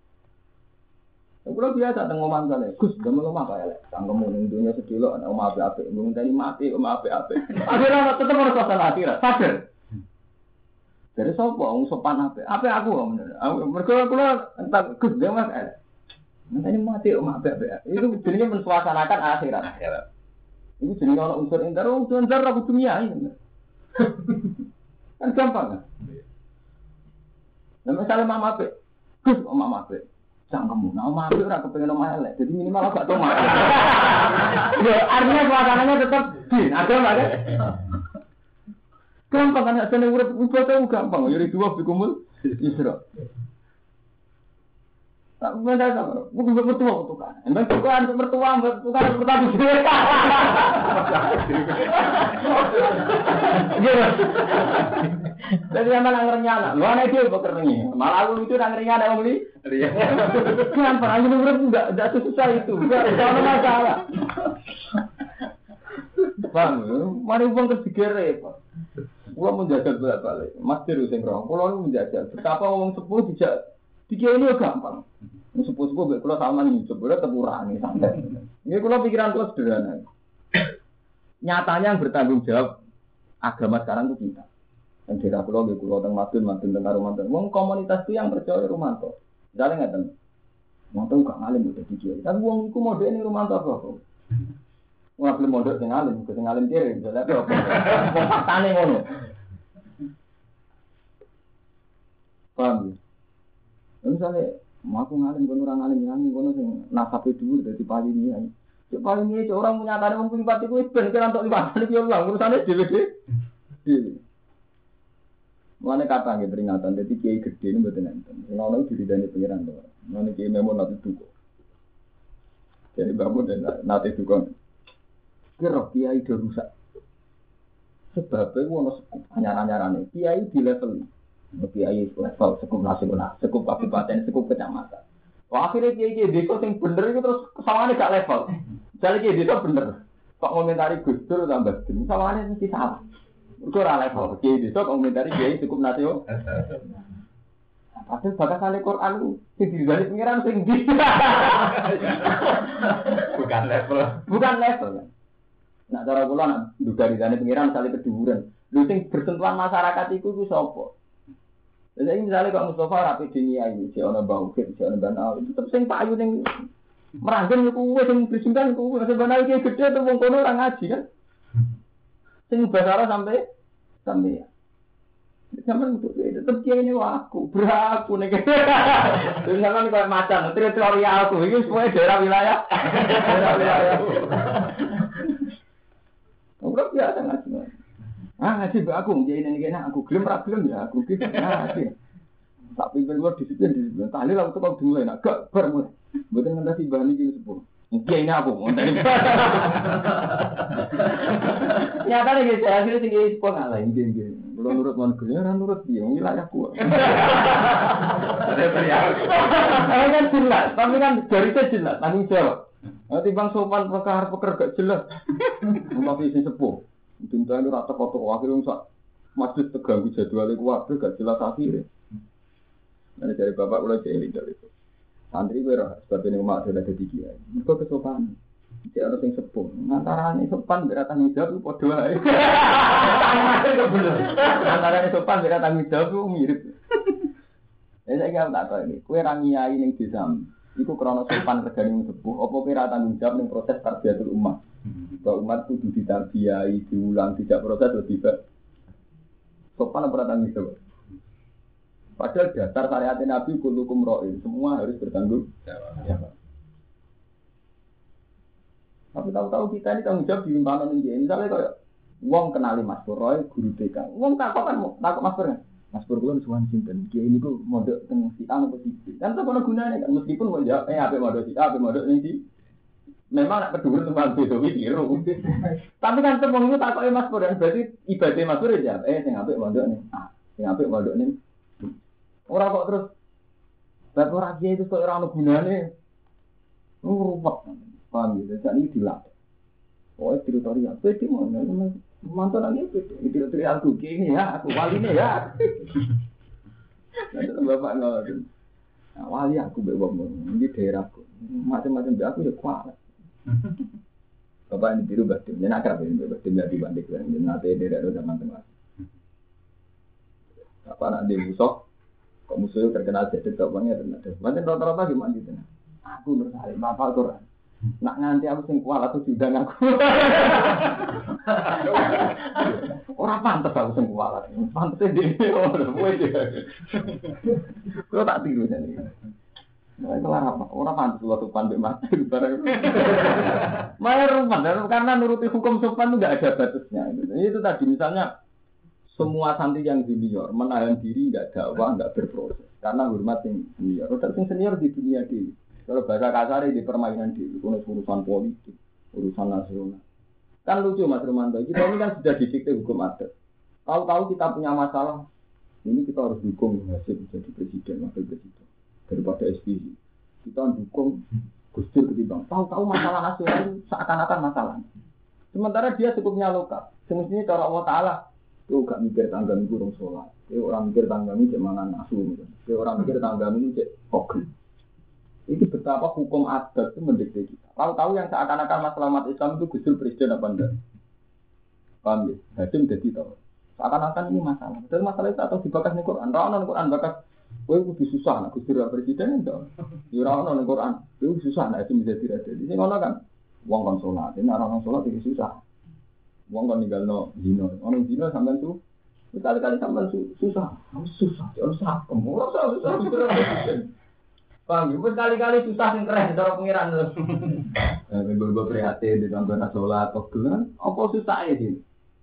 [SPEAKER 2] Kulo biasa teng omah kale. Gus, damel omah kaya lek. Sangkemu ning dunya sedilok ana omah apik-apik. Ngenteni mati omah apik-apik. Akhirnya tetep ono suasana akhirat. Sadar. Dari sapa wong sopan apik? Apik aku kok bener. Mergo kulo entak Gus damel kaya. Ngenteni mati omah apik-apik. Itu jenenge mensuasanakan akhirat. Itu jenenge ono unsur inter aku dunia ini. Kan gampang kan? Nah, misalnya mama apik. Gus, mama apik. Cangkemmu, nah omah aku ora kepengin omah elek. Jadi minimal agak omah. Ya, artinya suasananya tetap ada enggak kan? Gampang kan nek seneng urip ibadah gampang. Ya dua bikumul isra. Tak beda sama. Bukan mertua kan. Emang bukan mertua pertama sih. Jadi sama nanggernya, lu anak dia bekerja. Malah aku lucu nanggernya ada orang beli. Gampang, aja menurut enggak susah itu, enggak ada masalah. Bang, mari uang ketiga repot. Gua menjajal balik, Mas Deru sing roh. Kulo menjajal. Betapa ngomong sepuh dijak. Dikira ini gampang. Sepuh-sepuh baik kulo sama nih, sebenarnya tepurangi santai. Ini kulo pikiran kulo sederhana. Nyatanya yang bertanggung jawab agama sekarang itu kita. Yang kira kulo teng Madun teng Karumanten. Wong komunitas itu yang percaya Rumanto. Misalnya nggak tahu. Rumanto gak ngalim udah dijual. Tapi wong itu mode ini Rumanto apa? Wong belum mode sing ngalim kiri. Misalnya apa? Wong faktane ngono. Paham? Misalnya, aku ngalim kono orang ngalim kono sing nasabe dhuwur dadi paling iki. Cek paling iki orang menyatakan wong lipat iku ben kira entuk lipat iki yo ulang urusane dhewe. Mulane kata nggih peringatan dadi kiai gedhe niku mboten enten. Sing ana diridani pengiran to. Mulane kiai memon nate duka. Jadi bangun dan nate duka. Kira kiai do rusak. Sebab itu ono anyar-anyarane. Kiai di level kiai level sekup nasional, sekup kabupaten, sekup kecamatan. Wah akhirnya kiai desa sing bener itu terus kesalahannya gak level. Jadi kiai desa bener. Kok ngomentari Gus Dur tambah gini, kesalahannya mesti salah. Itu ora level. Kiai desa komentari kiai sekup nasional. Padahal bakasan Al-Quran itu sing digali pengiran sing di. Bukan level. Nah cara kula nak duga dizane pengiran sale keduren. Lho sing bersentuhan masyarakat iku sapa? Jadi misalnya kalau Mustafa rapi dunia ini, si orang bau, si orang banal, itu tetap sing payu yang meranggen kuwe, sing bersingkan kuwe, masih banal kayak gede, terus wong kono orang ngaji kan, sing bahasa sampai ya, sampai untuk itu, tetap dia ini aku, beraku nih, terus sampai kayak macan, teritorial aku, ini semuanya daerah wilayah, ngobrol biasa ngaji. Ngaji mbak aku, jadi ini aku gelem ya aku gitu ngaji. Tak pimpin luar disiplin. Tahlil aku kok dimulai nak gak bermulai. Mboten ngentasi bahan iki sepuluh. Iki ini aku ngonteni. Nyatane iki akhire sing iki sepuluh ngalah iki. Kulo nurut mon gelem ora nurut piye wilayahku. Kan jelas, tapi kan dari jelas tanggung jawab. Nanti bang sopan peker gak jelas. Tapi sing sepuh. Dinta ini rata kotor akhirnya sak masjid terganggu jadwalnya kuwabe gak jelas akhirnya. Nanti dari bapak udah jeling dari itu. Santri berah sebab ini umat sudah jadi kiai. Mereka kesopanan. Jadi harus yang sepuh. Antara ini sopan berat tanggung jawab itu podo aja. Antara ini sopan berat tanggung jawab itu mirip. Saya kira tak tahu ini. Kue rangiai yang disam. Iku krono sopan kerjaan yang sepuh. Apa kira tanggung jawab yang proses tarbiyatul umat. Bahwa umat itu ditarbiyai, diulang, tidak proses atau tidak sopan apa tanggung jawab. Padahal dasar syariat Nabi kullukum ra'in, semua harus bertanggung jawab. Tapi tahu-tahu kita ini tanggung jawab di limpahan ini. Misalnya kayak Wong kenali Mas Pur Roy guru TK. Wong takok kan takok Mas Pur kan. Mas Pur kula suwan sinten? Ki niku mondok teng si A apa si B. Kan tak ono gunane kan meskipun mau jawab apik mondok si A, apik mondok ning si. Memang nak kedua tempat beda biru. Tapi kan tepung itu takoke Mas Pur dan berarti ibadah Mas Pur ya. Sing apik mondok ning A, sing apik mondok ning B. Ora kok terus bab ora kiai itu kok ora ono gunane. Ruwet. Paham ya? Jadi ini dilatih. Oh, teritorial. Pede mana? Mantan lagi pede. Teritorial aku gini ya, aku wali nih ya. Nanti bapak ngelakuin. Nah, wali aku bebas di daerahku. Macam-macam dia aku ya kuat. Bapak ini biru batin. Jangan akrab ini batin jadi banding. Jangan nanti daerah zaman tengah. Bapak nak di musuh. Kok musuhnya terkenal jadi bapaknya terkenal. Macam rata-rata gimana gitu? Aku bersari bapak Quran. Nak nganti aku sing kuat atau sidang aku. Ora pantes aku sing kuat. Pantes dhewe ora wis. Kok tak tiru jane. Nah, kelar apa? Ora pantes lu sopan mbek mati bareng. Malah rumah karena nuruti hukum sopan itu enggak ada batasnya. Itu tadi misalnya semua santri yang junior menahan diri enggak dakwah, enggak berproses karena hormat yang senior. Terus senior di dunia di kalau bahasa kasar di permainan di urusan politik, urusan nasional. Kan lucu Mas Romanto, kita ini kan sudah didikte hukum adat. Tahu-tahu kita punya masalah, ini kita harus dukung hasil jadi presiden, wakil presiden daripada SPY. Kita dukung Gus Dur ketimbang. Tahu-tahu masalah nasional itu seakan-akan masalah. Sementara dia cukupnya lokal. Semestinya cara Allah Taala, itu gak mikir tangga ini kurang sholat. Dia orang mikir tangga ini cek mangan asu. Dia orang mikir tangga ini cek kogel. Itu betapa hukum adat itu mendikte kita. Tahu-tahu yang seakan-akan masalah umat Islam itu Gus Dur presiden apa enggak? Paham ya? Hadim jadi tahu. Seakan-akan ini masalah. Dan masalah itu atau dibakas nih Quran. Rana Quran bakas. Wah itu susah. Nak Gus Dur presiden enggak? Ya rana nih Quran. Itu susah. Nak itu bisa tidak jadi. Ini ngono kan? Uang kan sholat. Ini orang sholat itu susah. Uang kan tinggal no zino. Orang zino sampai itu. Kali-kali sampai susah. Susah. Susah. Kemudian susah. Susah. Bang, ibu kali-kali susah sing keren cara pengiran lho. Ibu prihatin di tanpa sholat kok kan apa susah iki.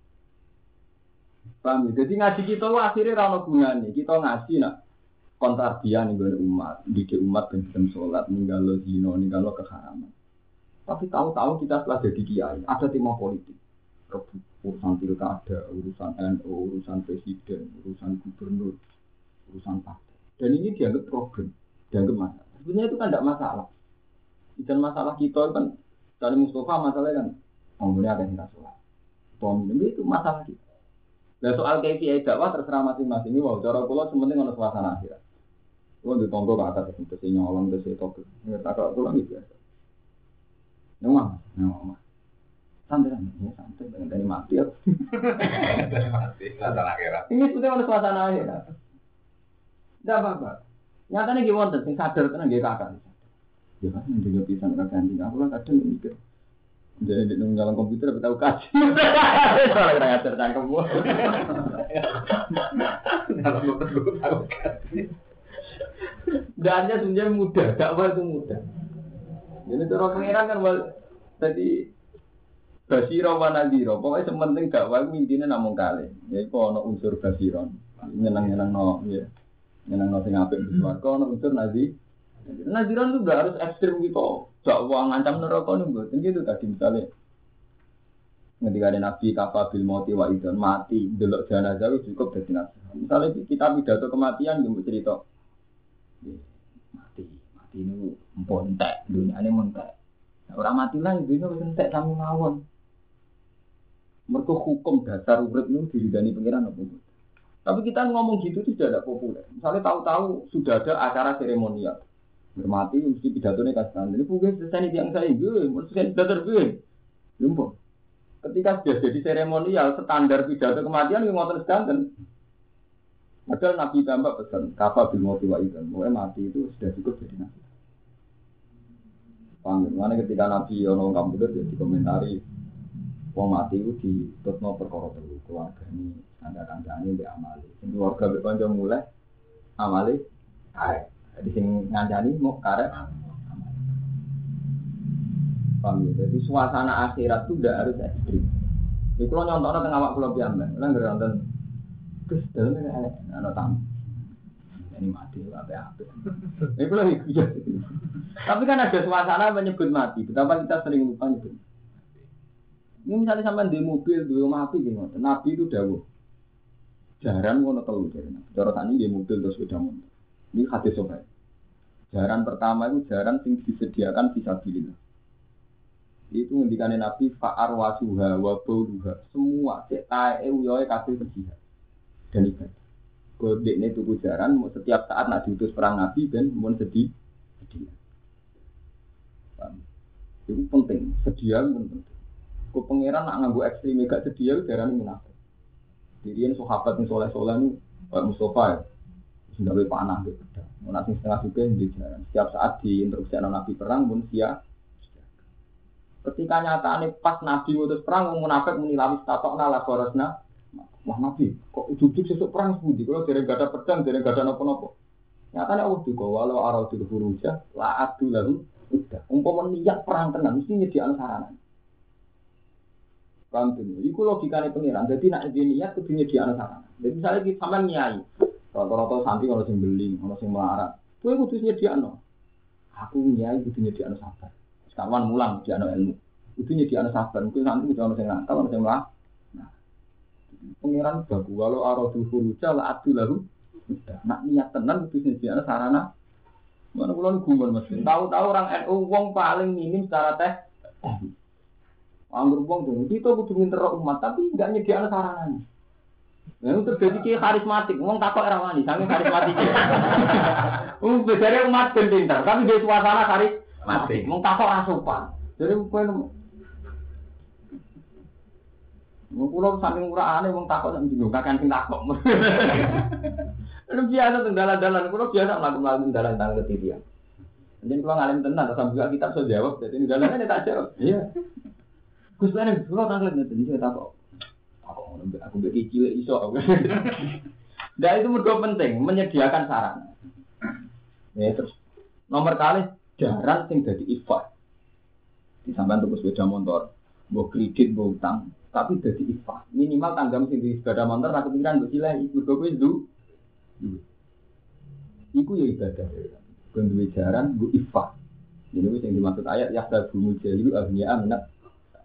[SPEAKER 2] Bang, jadi ngaji kita akhirnya ra ono gunane. Kita ngaji nak kontrabian nggon umat, didik umat ben sholat, ninggalo zina, ninggalo keharaman. Tapi tahu-tahu kita setelah jadi kiai, ada tema politik. Urusan pilkada, urusan NU, urusan presiden, urusan gubernur, urusan partai. Dan ini dianggap problem. Dianggap masalah. Sebenarnya itu kan tidak masalah. Dan masalah kita kan dari Mustafa masalahnya kan ngomongnya ada yang sholat. Itu masalah kita. Nah soal KPI dakwah terserah masing-masing. Ini wow, cara pulau sementing ada suasana akhirat. Pulau di tonggo ke atas itu si nyolong ke si togel. Ngerti kalau pulau itu biasa. Nyomang. Santai. Dengan dari mati ya.
[SPEAKER 3] Dari mati. Suasana akhirat.
[SPEAKER 2] Ini sebenarnya ada suasana akhirat. Tidak apa-apa. Nyatanya gimana? Sing sadar tenan nggih kakak. Ya kan menjaga pisan kakak anjing. Aku kan kadang mikir. Jadi di dalam komputer tahu kaji. Soalnya kena ngajar cangkem gua. Dalam komputer gua tahu kaji. Dannya sebenarnya mudah, dakwah itu mudah. Jadi cara pengiran kan tadi basira wa nadhira. Pokoknya sementing dakwah itu intinya namung kali. Yaitu ana unsur basiron. Nyenang-nyenangno ya. Nyenang sing apik di swarga ana unsur naziran itu enggak harus ekstrem gitu. Dakwah ngancam neraka niku mboten gitu tadi misalnya. Ketika ada nabi kafabil mauti wa idzan mati delok jenazah itu cukup dadi nasihat. Misalnya kita pidato kematian nggih cerita. Mati ini montek, dunyane montek. Ora mati lah dunya wis entek sami mawon. Mergo hukum dasar urip niku diridani pengiran apa mboten. Tapi kita ngomong gitu itu tidak populer. Misalnya tahu-tahu sudah ada acara seremonial. Bermati mesti pidatonya kasih. Jadi mungkin selesai yang saya gue, mesti pidato gue. Lumpur. Ketika sudah jadi seremonial, standar pidato kematian yang ngotot sedanten. Padahal Nabi tambah pesan, kafa bil mauti wa idzan. Mulai mati itu sudah cukup jadi nabi. Paham? Mana ketika Nabi ono komputer jadi komentari, wong mati itu di tutno perkara telu keluarga ini. Tanda-tandanya di amali. Sing keluarga berkonco mulai amali karek. Jadi sing ngancani mau karek amali. Paham ya? Jadi suasana akhirat itu tidak harus ekstrim. Iku lo nyontokno teng awak kula piyambak. Lah nggih wonten Gus dalem ana tamu. Ini mati apik-apik. Iku lho iya. Tapi kan ada suasana menyebut mati. Betapa kita sering lupa nyebut. Ini misalnya sampai di mobil, di rumah api gimana? Nabi itu dawuh. Jaran ngono telu jarane. Cara tani di mobil terus sepeda motor. Ini hadis sahih. Jaran pertama itu jaran sing disediakan fisabilillah. Itu ngendikane Nabi fa'ar wasuha wa bauluha. Semua cek tae uyoe kabeh berjihad. Dan ibadah. Kodekne tuku jaran setiap saat nak diutus perang Nabi ben mun sedia. Itu penting, sedia penting. Ku pangeran nak nganggo ekstrem gak sedia jarane munafik. Dirian sahabat sing saleh-saleh niku Pak Mustofa ya. Sing gawe panah gitu. Ana sing setengah juga di jaran. Setiap saat diinstruksikan Nabi perang pun siap. Ketika nyatane pas Nabi ngutus perang munafik muni lawis tatokna la korosna. Wah Nabi, kok ujug-ujug sesuk perang sepundi? Kalau dereng gak ada pedang, dereng gak ada napa-napa. Nyatane Allah juga walau aradul furuja la adu lahu udah. Umpama niat perang tenan mesti nyediakno sarana. Paham tuh? Iku logikane pengiran. Jadi nak niat kudu nyediakno sarana. Jadi misalnya kita sampean nyai, rata-rata santri ono sing beling, ono sing melarat. Kowe kudu nyediakno. Aku nyai kudu nyediakno sabar. Sekawan mulang nyediakno ilmu. Kudu nyediakno sabar. Mungkin santri kudu ono sing nakal, ono sing melarat. Pengiran bagu walau aradul furuja la adu lahu udah. Nak niat tenan kudu nyediakno sarana. Mana kula gumun Mas. Tahu-tahu orang NU wong paling minim secara teh. Anggur wong dong, kita kudu minter umat tapi enggak nyediakno saranane. Nah, itu terjadi ki karismatik. Wong takok ora wani, sange karismatik. Bedare umat ben pinter, tapi di suasana karismatik. Wong takok ora sopan. Jadi kowe Kulo saking uraane wong takok sak njero kakan sing takok. Lu biasa teng dalan-dalan, kulo biasa mlaku-mlaku dalan tang ketidian. Jadi kulo ngalim tenan sampe juga kitab iso jawab, dadi dalane tak jawab. Iya. Gus Lan kulo taklet ngeten iki takok. Aku mbek cilik iso. Nah itu mergo penting menyediakan sarana. Ya terus nomor kali jaran sing dadi ifah. Disampean tuku sepeda motor, mbok kredit, mbok utang. Tapi jadi ifah minimal tanggam sing di sepeda motor aku pikiran mbok silai mergo kowe ndu iku ya ibadah kon duwe jaran mbok ifah ini wis sing dimaksud ayat ya sabunu jalilu abniya minat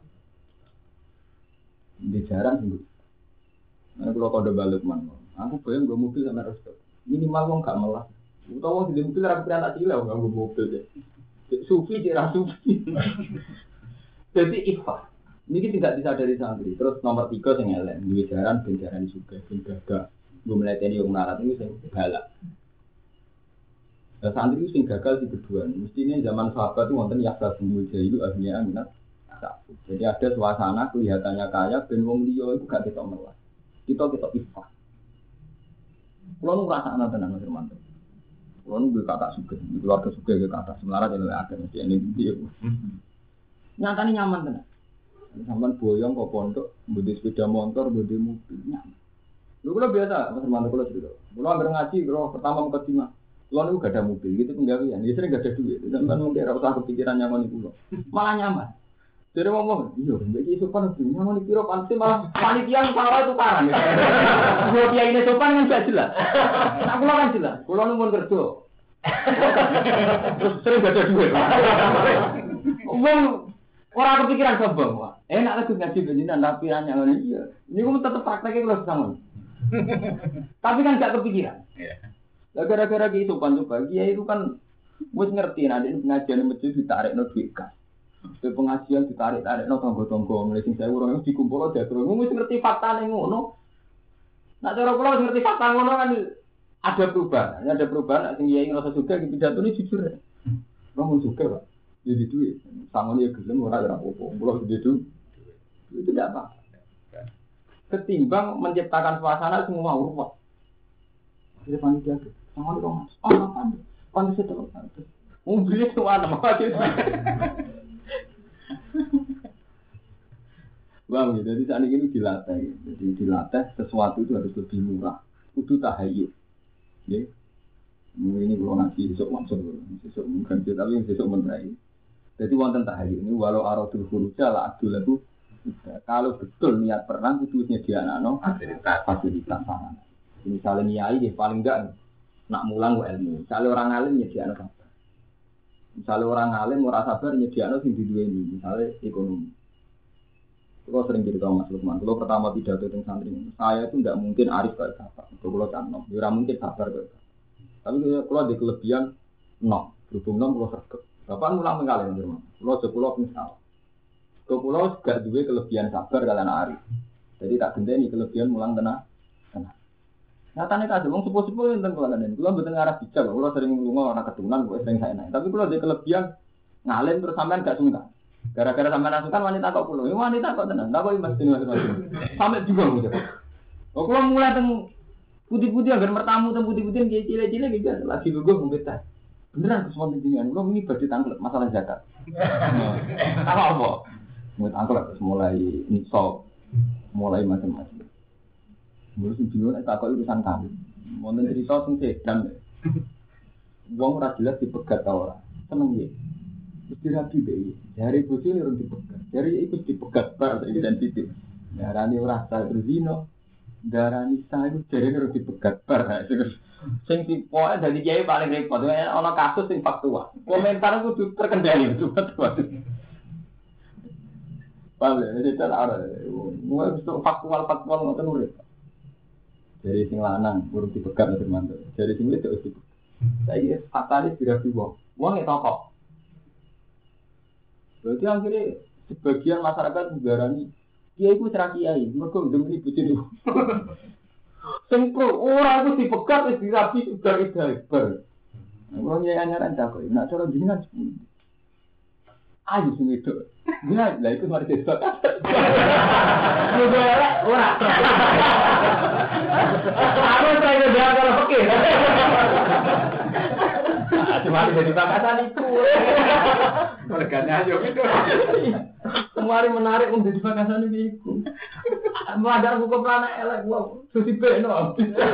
[SPEAKER 2] di jaran sing ana kula kode balik man aku bayang nggo mobil sama resto minimal wong gak melas utawa di mobil ra pikiran tak silai nggo mobil deh sufi cek sufi jadi ifah. Ini tidak disadari santri. Terus nomor 3 sing elek, duwe jaran ben jaran juga, ben gagah. Gue meleteni wong melarat ini sing galak. Nah, santri sing gagal di kedua. Mestinya zaman sahabat itu wonten yaksa bumul jahilu akhirnya minat. Jadi ada suasana kelihatannya kaya ben wong liya iku gak ketok melas. Kita ifah. Kulo nu ngrasakno tenan Mas Hermanto. Kulo nu kata sugih, keluarga sugih kata melarat ya akeh mesti ini piye. Nyatane nyaman tenan. Sampai boyong kok pondok, budi sepeda motor, budi mobil, nyaman. Lu kalau biasa, Mas Hermanto kalau cerita, kalau ambil ngaji, kalau pertama mau ke Cina, lo gak ada mobil, gitu penggawean, dia sering gak ada duit, sampai mungkin rasa kepikiran nyaman itu lo, malah nyaman. Jadi ngomong, iya, jadi sopan itu nyaman itu pasti malah panitia yang salah itu karang. Kalau dia ini sopan kan gak jelas, aku kan jelas, kalau nunggu kerja, terus sering gak ada duit. Orang kepikiran sombong, wah. Enak lah ngaji begini, tapi hanya orang iya. Ini kamu tetap prakteknya kalau sama. Tapi kan gak kepikiran. Gara-gara gitu kan dia itu kan, mus ngerti nanti pengajian masjid ditarik no duit kas. Pengajian ditarik no tonggo-tonggo, mulai sing saya orang itu dikumpul aja terus. Mus ngerti fakta nih ngono. Nak cara pulau ngerti fakta ngono kan ada perubahan. Ada perubahan. Sing dia ngerasa juga gitu pidato ini jujur. Kamu suka pak. Jadi duit, sangon ya gelem ora apa-apa. Pulau itu tidak apa. Ketimbang menciptakan suasana semua urut. Jadi panitia itu, sangon dong. Oh apa? Panitia itu. Mobilnya semua nama aja. Bang, jadi saat ini dilatih. Jadi dilatih sesuatu itu harus lebih murah. Kudu tahayyul. Ya. Ini kalau nanti besok maksud, besok mungkin tapi besok menerai. Jadi wonten tahayyul ini walau aradul furuja la adul itu Kalau betul niat perang itu nyediakno fasilitas sarana. Misalnya niai ya paling enggak nak mulang ilmu. Misalnya orang alim nyediakno sabar. Misalnya orang alim ora sabar nyediakno sing diduweni, misalnya ekonomi. Kalau sering cerita Mas Lukman, kalau pertama pidato tentang santri, saya itu tidak mungkin arif kayak sabar. Kalau cannom, tidak mungkin sabar kayak sabar. Tapi kalau ada kelebihan, berhubung kalau sergap. Bapak mulang mengalir di rumah. Kalau sepulau misal, kalau gak dua kelebihan sabar kalian arif. Jadi tak gendeni kelebihan mulang tenang. Nyatanya kasih, orang sepuh-sepuh yang tentang kalian ini. Kalau betul arah bijak, kalau sering ngulungan orang keturunan, gue sering saya naik. Tapi kalau ada kelebihan ngalim terus sampean gak sungkan. Gara-gara sampean asukan wanita kok pulau, wanita kok tenang, tak kok imas sampai juga gitu. Oh kalau mulai teng putih-putih agar bertamu teng putih-putih kayak cile-cile gitu, lagi gue mungkin tak. Beneran kesemua tinggian, gue ini berdiri tangklet masalah zakat. Apa? Mungkin tangklet terus mulai nisab, mulai macam-macam. Mulai sebelum tak kok urusan kamu, mau cerita tentang sedan. Uang ras jelas dipegat tau orang, seneng ya. Mesti rapi deh. Dari bocil ni orang dipegat. Dari ikut dipegat bar identitas. Darani orang sah berzino. Darani sah itu dari orang dipegat bar. Sing tipe dari kiai paling repot. Ono kasus sing faktual. Komentar itu terkendali betul. Paling jadi ada. Mulai faktual ngoten urip. Dari sing lanang urung dipegat nanti mantu. Dari sing itu dipegat. Saya fatalis tidak dibuang. Uang itu kok. Berarti akhirnya sebagian masyarakat menggarani kiai itu cerah kiai, mereka demi ibu jadi. Sempro orang itu dipegat, dirapi sudah ibar. Orang yang nyaran cakap, nak cara jenengan sepuluh. Ayo sini itu, dia lah itu mari disebut. Sudah orang. Aku saya dia kalau fikir. Cuma jadi bangkasan itu. Merganya aja gitu. Kemarin menarik untuk di bangkasan itu. Melanggar hukum anak elek, wow, susi beno.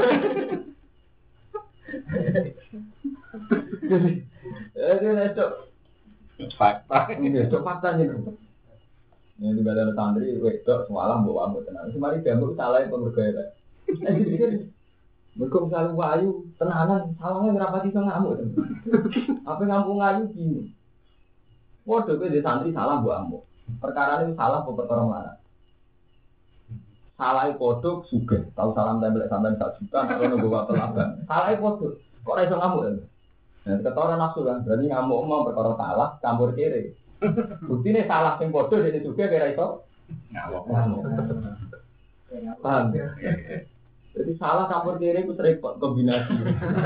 [SPEAKER 2] Jadi itu fakta. Itu faktanya. Ini juga ada santri, wedok semalam bawa ambil tenang. Semari diambil salah yang pemergaya. Mereka selalu wayu, tenanan, salahnya ngerapati so ngamuk. Apa ngamuk ngayu gini. Waduh, di santri salah buat amuk. Perkara ini salah buat perkara mana? Salah kodok juga. Tahu salam tembelak sampai 1 juta, kalau nunggu waktu laban. Salah kodok. Kok iso ngamuk ya? Nah, ketoran nafsu kan. Berarti ngamuk mau perkara salah, campur kiri. Bukti ini salah yang kodok, jadi juga kira iso ngamuk. Paham? Jadi salah campur kiri itu repot kombinasi.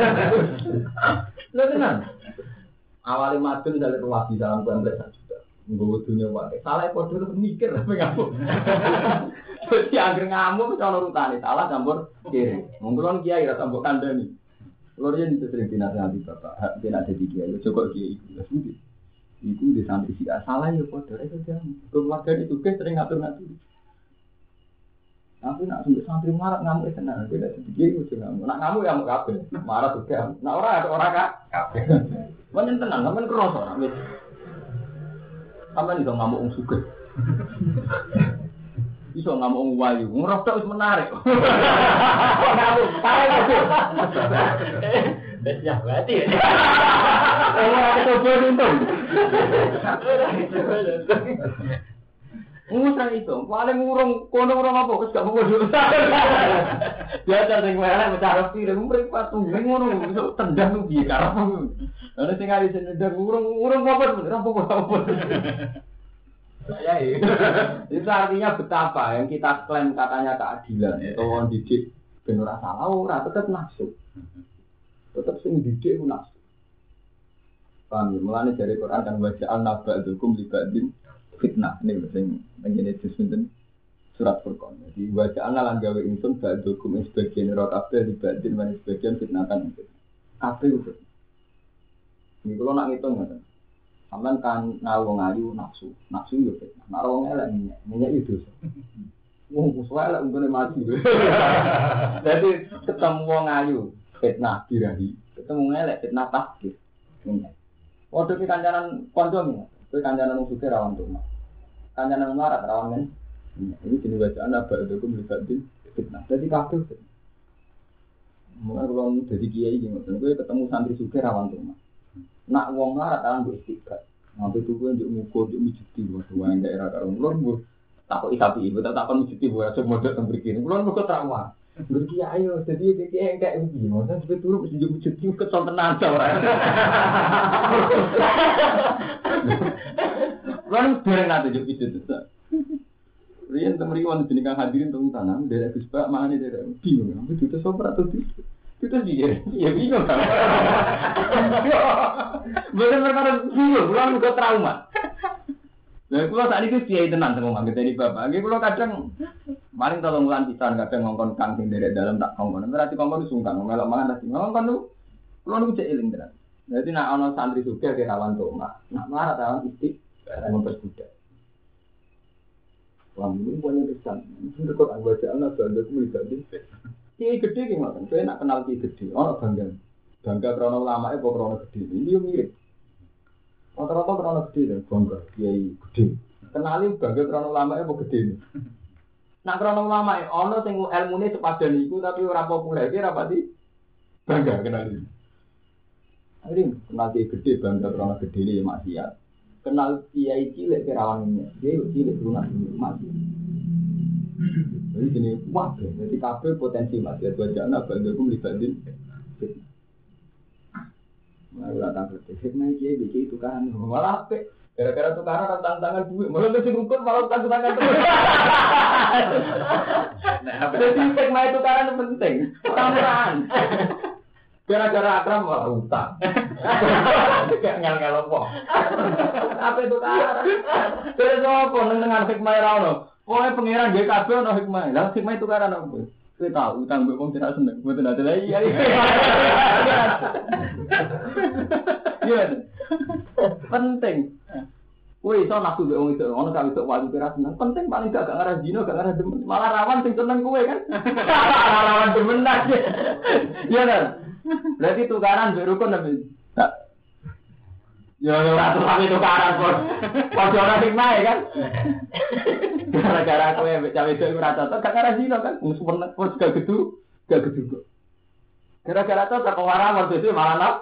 [SPEAKER 2] Lo tenang. Awalnya madun dari ruwadi dalam kompleks 1 juta. Nggo dunia wae. Salah podo lu mikir tapi ngamuk. Jadi agar ngamuk ono rutane salah campur kiri. Monggo kiai ra tambah kandhani. Lho yen itu sering dinasihati Bapak, hak kena jadi kiai, coba kiai itu sendiri. Iku di santri sih salah ya podo itu jam. Keluarga itu sering ngatur-ngatur. Tapi nak santri marah ngamuk tenan, tidak sedikit itu ngamuk. Nak ngamuk ya ngamuk kabeh, marah juga. Nak ora kabeh. Men tenan, sampean kroso nak wis. Sampean iso ngamuk wong sugih. Iso ngamuk wong wayu, ngrosok wis menarik. Ngamuk, parah itu. Ya berarti. Ora kecoba untung. Ngusah itu, paling ngurung, kono ngurung apa, terus gak mau dulu. Biasa sing melek mencari pilih, meripat tuh, ngurung, bisa tendang tuh biar karena. Lalu sing kali tendang ngurung apa, apa. Ya itu artinya betapa yang kita klaim katanya keadilan, atau orang didik benar salah, orang tetap nafsu, tetap sing didik itu nafsu. Paham ya, mulanya dari Quran kan wajah al-naba'dukum libadin fitnah ini sing ngene disebut surat Furqan. Jadi waja'alna lan gawe ingsun ba'dukum sebagian ira kabeh dibanding lan sebagian fitnatan. Kabeh itu. Iki kula nak ngitung ngoten. Sampeyan kan wong ayu nafsu yo fitnah. Nek wong elek minyak itu. Wong kuwi elek ngene mati. Jadi ketemu wong ayu fitnah dirahi, ketemu elek fitnah takdir. Waduh ki kancanan kanca iki. Kowe kancanan wong sugih rawan tuh. Kancanan melarat rawan men Ini jenis bacaan apa itu melibatin fitnah. Jadi kabel. Mulai kalau jadi kiai gitu, gue ketemu santri suka rawan tuh. Nak wong larat kan gue istiqat. Nanti tuh gue untuk ngukur, untuk mijuti buat uang daerah kalau mulai gue takut tapi ibu tak mijuti buat semua datang berkini. Mulai gue terawat. Berkiai ayo, jadi kiai kayak begini. Maksudnya seperti dulu mesti mijuti kesel tenan orang. Mulai bareng nanti jadi mijuti tuh. Rian temeri wan jenengan hadirin teng tanam dari Gus Pak mana dari bingung aku itu sopra atau itu dia ya bingung kan bener perkara bingung pulang juga trauma nah kalau saat itu dia tenang sama mangga dari bapak lagi kalau kadang paling tolong bulan pisan kadang ngongkon kang sing dari dalam tak ngongkon berarti ngongkon sungkan melok mangan lagi ngongkon tuh kalau nu cek eling tenan jadi nak ono santri juga ke rawan tuh nak marah rawan istik memperbudak. Ini punya pesan. Ini kok anggota anak bangga melibatin. Kiai gede gimana? Saya nak kenal kiai gede. Orang bangga krono lama apa krono gede. Ini mirip. Rata-rata krono gede bangga kiai gede. Kenali bangga krono lama apa gede. Nak krono lama ono sing ilmune sepadan iku tapi ora populer iki rapati bangga kenali. Ini kenal kiai gede bangga krono gede iki maksiat. Kenal kiai cilik kerawannya, dia cilik lunak mati. Jadi gini, wah, jadi kabel potensi mati. Wajah anak bangga aku melibatin. Nah, udah tanggal fitnah kiai itu kan, malah apa? Gara-gara tukaran tangan duit, malah mesti ngukur malah tangan duit. Jadi fitnah itu karena penting, orang-orang. Gara-gara akram malah utang. Kayak ngel-ngel apa. Apa itu cara? Terus apa dengan hikmah ra ono? Pokoke pangeran nggih kabeh ono hikmah. Lah hikmah itu karena apa? Kowe tahu utang mbek wong tidak seneng. Mboten ada lagi. Iya. Penting. Kowe iso nafsu mbek wong itu ono sak iso wali kira seneng. Penting paling gak ngarah dino, gak ngarah demen. Malah rawan sing seneng kowe kan. Rawan demen aja. Iya kan? Berarti tukaran mbek rukun tapi ya ora tapi tukaran kok. Padha ora hikmah kan. Gara-gara kowe mbek cawe itu ora cocok gak ngarah dino kan. Wis seneng wis gak gedu kok. Gara-gara cocok kok ora waktu itu malah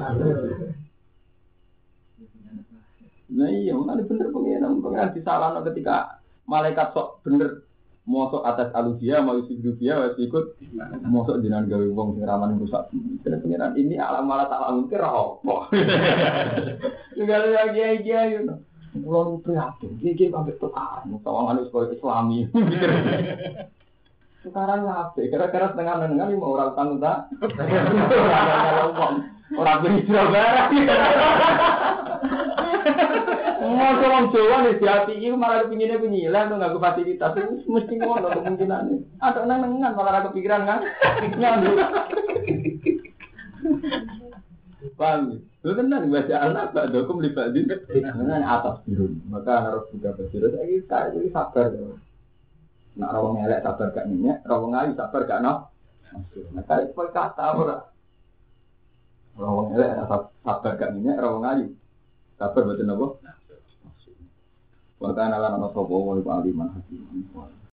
[SPEAKER 2] Nah iya, mana bener pengen disalahno ketika malaikat sok bener mosok atas alusia mau sidufia wis ikut mosok jenengan gawe wong sing rawan rusak. Bener pengiran ini alam malah tak lamun ki ra opo. Segala lagi yo. Kulo prihatin, iki ambek tukaran, tawangan wis koyo Islami. Tukaran ape? Kira-kira setengah-setengah lima orang utang tak? Orang berhijrah barang. Mau orang Jawa nih di hati itu malah kepinginnya penyilan tuh nggak fasilitas itu mesti ngono kemungkinannya. Ada nengan malah ada kepikiran kan? Nyambung. Paham? Itu benar baca anak tak dokum libatin dengan atas biru. Maka harus juga berbiru. Saya ini sabar. Nak rawang elek sabar gak minyak, rawang ayu sabar gak nak. Maka itu kata orang. Rawang elek sabar gak minyak, rawang ayu sabar betul apa? Wa kana lana sapa wa aliman hakim.